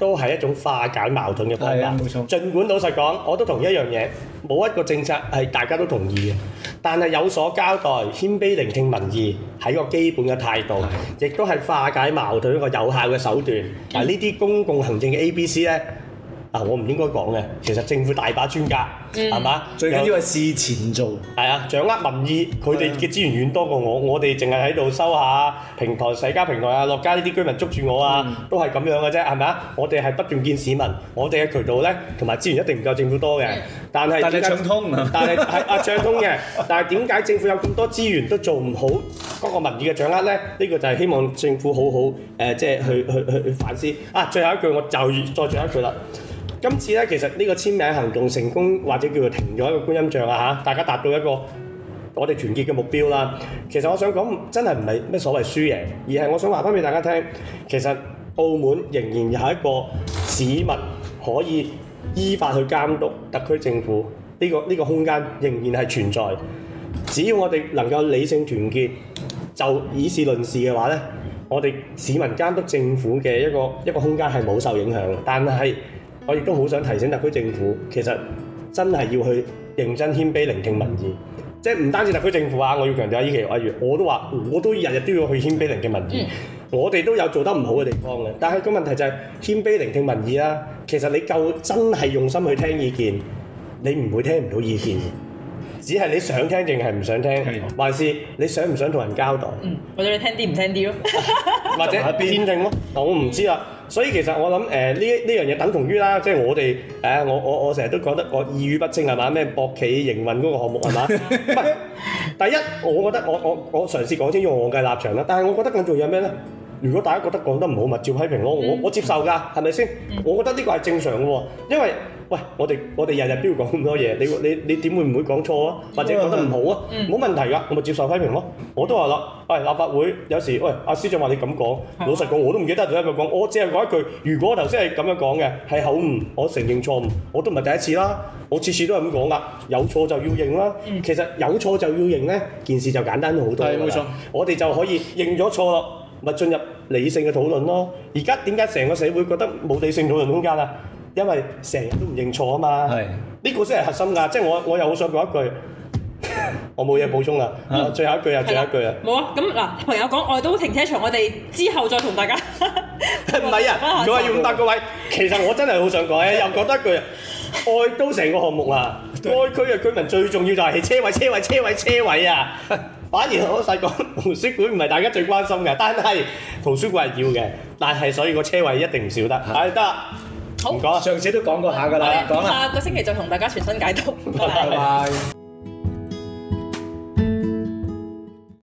都係一種化解矛盾嘅方法。 冇錯。 儘管老實講，我都同意一樣嘢，冇一個政策係大家都同意嘅，但係有所交代，謙卑聆聽民意係一個基本嘅態度，亦都係化解矛盾一個有效嘅手段。嗱，呢啲公共行政嘅 A B C 咧。啊！我唔應該講嘅，其實政府大把專家，係嘛、嗯？ 最緊要係事前做， 係啊，掌握民意，佢哋嘅資源遠多過我，我哋淨係喺度收下平台、社交平台啊，落街呢啲居民捉住我啊，嗯、都係咁樣嘅啫，係咪啊？我哋係不斷見市民，我哋嘅渠道咧同埋資源一定唔夠政府多嘅，但係但係暢通， 但係係啊暢通嘅，但係點解政府有咁多資源都做唔好嗰個民意嘅掌握咧？呢、呢個就係希望政府好好誒、呃，即係去去去去反思。啊，最後一句我就再最後一句啦。今次咧，其實呢個簽名行動成功，或者叫做停咗一個觀音像啊嚇，大家達到一個我哋團結嘅目標啦。其實我想講，真係唔係咩所謂輸贏，而係我想話翻俾大家聽，其實澳門仍然有一個市民可以依法去監督特區政府呢個呢個空間，仍然係存在。只要我哋能夠理性團結，就以事論事嘅話咧，我哋市民監督政府嘅一個一個空間係冇受影響嘅，但係我亦都好想提醒特區政府，其實真係要去認真謙卑聆聽民意，即係唔單止特區政府啊！我要強調下依期例如，我都話，我都日日都要去謙卑聆聽民意。嗯、我哋都有做得唔好嘅地方嘅，但係個問題就係謙卑聆聽民意啦。其實你夠真係用心去聽意見，你唔會聽唔到意見，只係你想聽定係唔想聽，的還是你想唔想同人交代？ 嗯，或者你聽啲唔聽啲咯， 或者偏聽咯？嗱，我唔知啦。所以其實我諗誒呢呢樣嘢等同於啦，即係我哋誒、呃、我我我成日都講得我意語不清係嘛？咩博企營運嗰個項目係嘛？唔係第一，我覺得我我我嘗試講清楚我嘅立場啦。但係我覺得更重要係咩咧？如果大家覺得講得唔好，咪照批評咯。我我接受㗎，係咪先？我覺得呢個係正常嘅喎，因為喂我哋我哋日日都要講咁多嘢，你你你點會唔會講錯啊？或者講得唔好啊？冇問題㗎，我咪接受批評咯。我都話啦，喂立法會有時喂阿司長話你咁講，老實講我都唔記得咗一句講，我只係講一句，如果我頭先係咁樣講嘅係口誤，我承認錯誤，我都唔係第一次啦，我次次都係咁講㗎，有錯就要認啦。其實有錯就要認咧，件事就簡單咗好多。係冇錯，我哋就可以認咗錯咯。咪進入理性嘅討論咯。而家點解成個社會覺得冇理性討論空間啊？因為成日都唔認錯啊嘛。係呢個先係核心㗎。即係我我又好想講一句，我冇嘢補充啦。最後一句啊，最後一句啊。冇啊。咁嗱，朋友講愛都停車場，我哋之後再同大家。唔係啊，如果係要五百個位，其實我真係好想講咧，又講多一句啊。愛都成個項目啊，該區嘅居民最重要就係車位、車位、車位、車位啊。反而我細講圖書館唔係大家最關心嘅，但係圖書館係要嘅，但係所以個車位一定唔少得。係得，好唔講，上次都講過下㗎啦，講啦，下個星期就同大家傳新解毒。拜拜。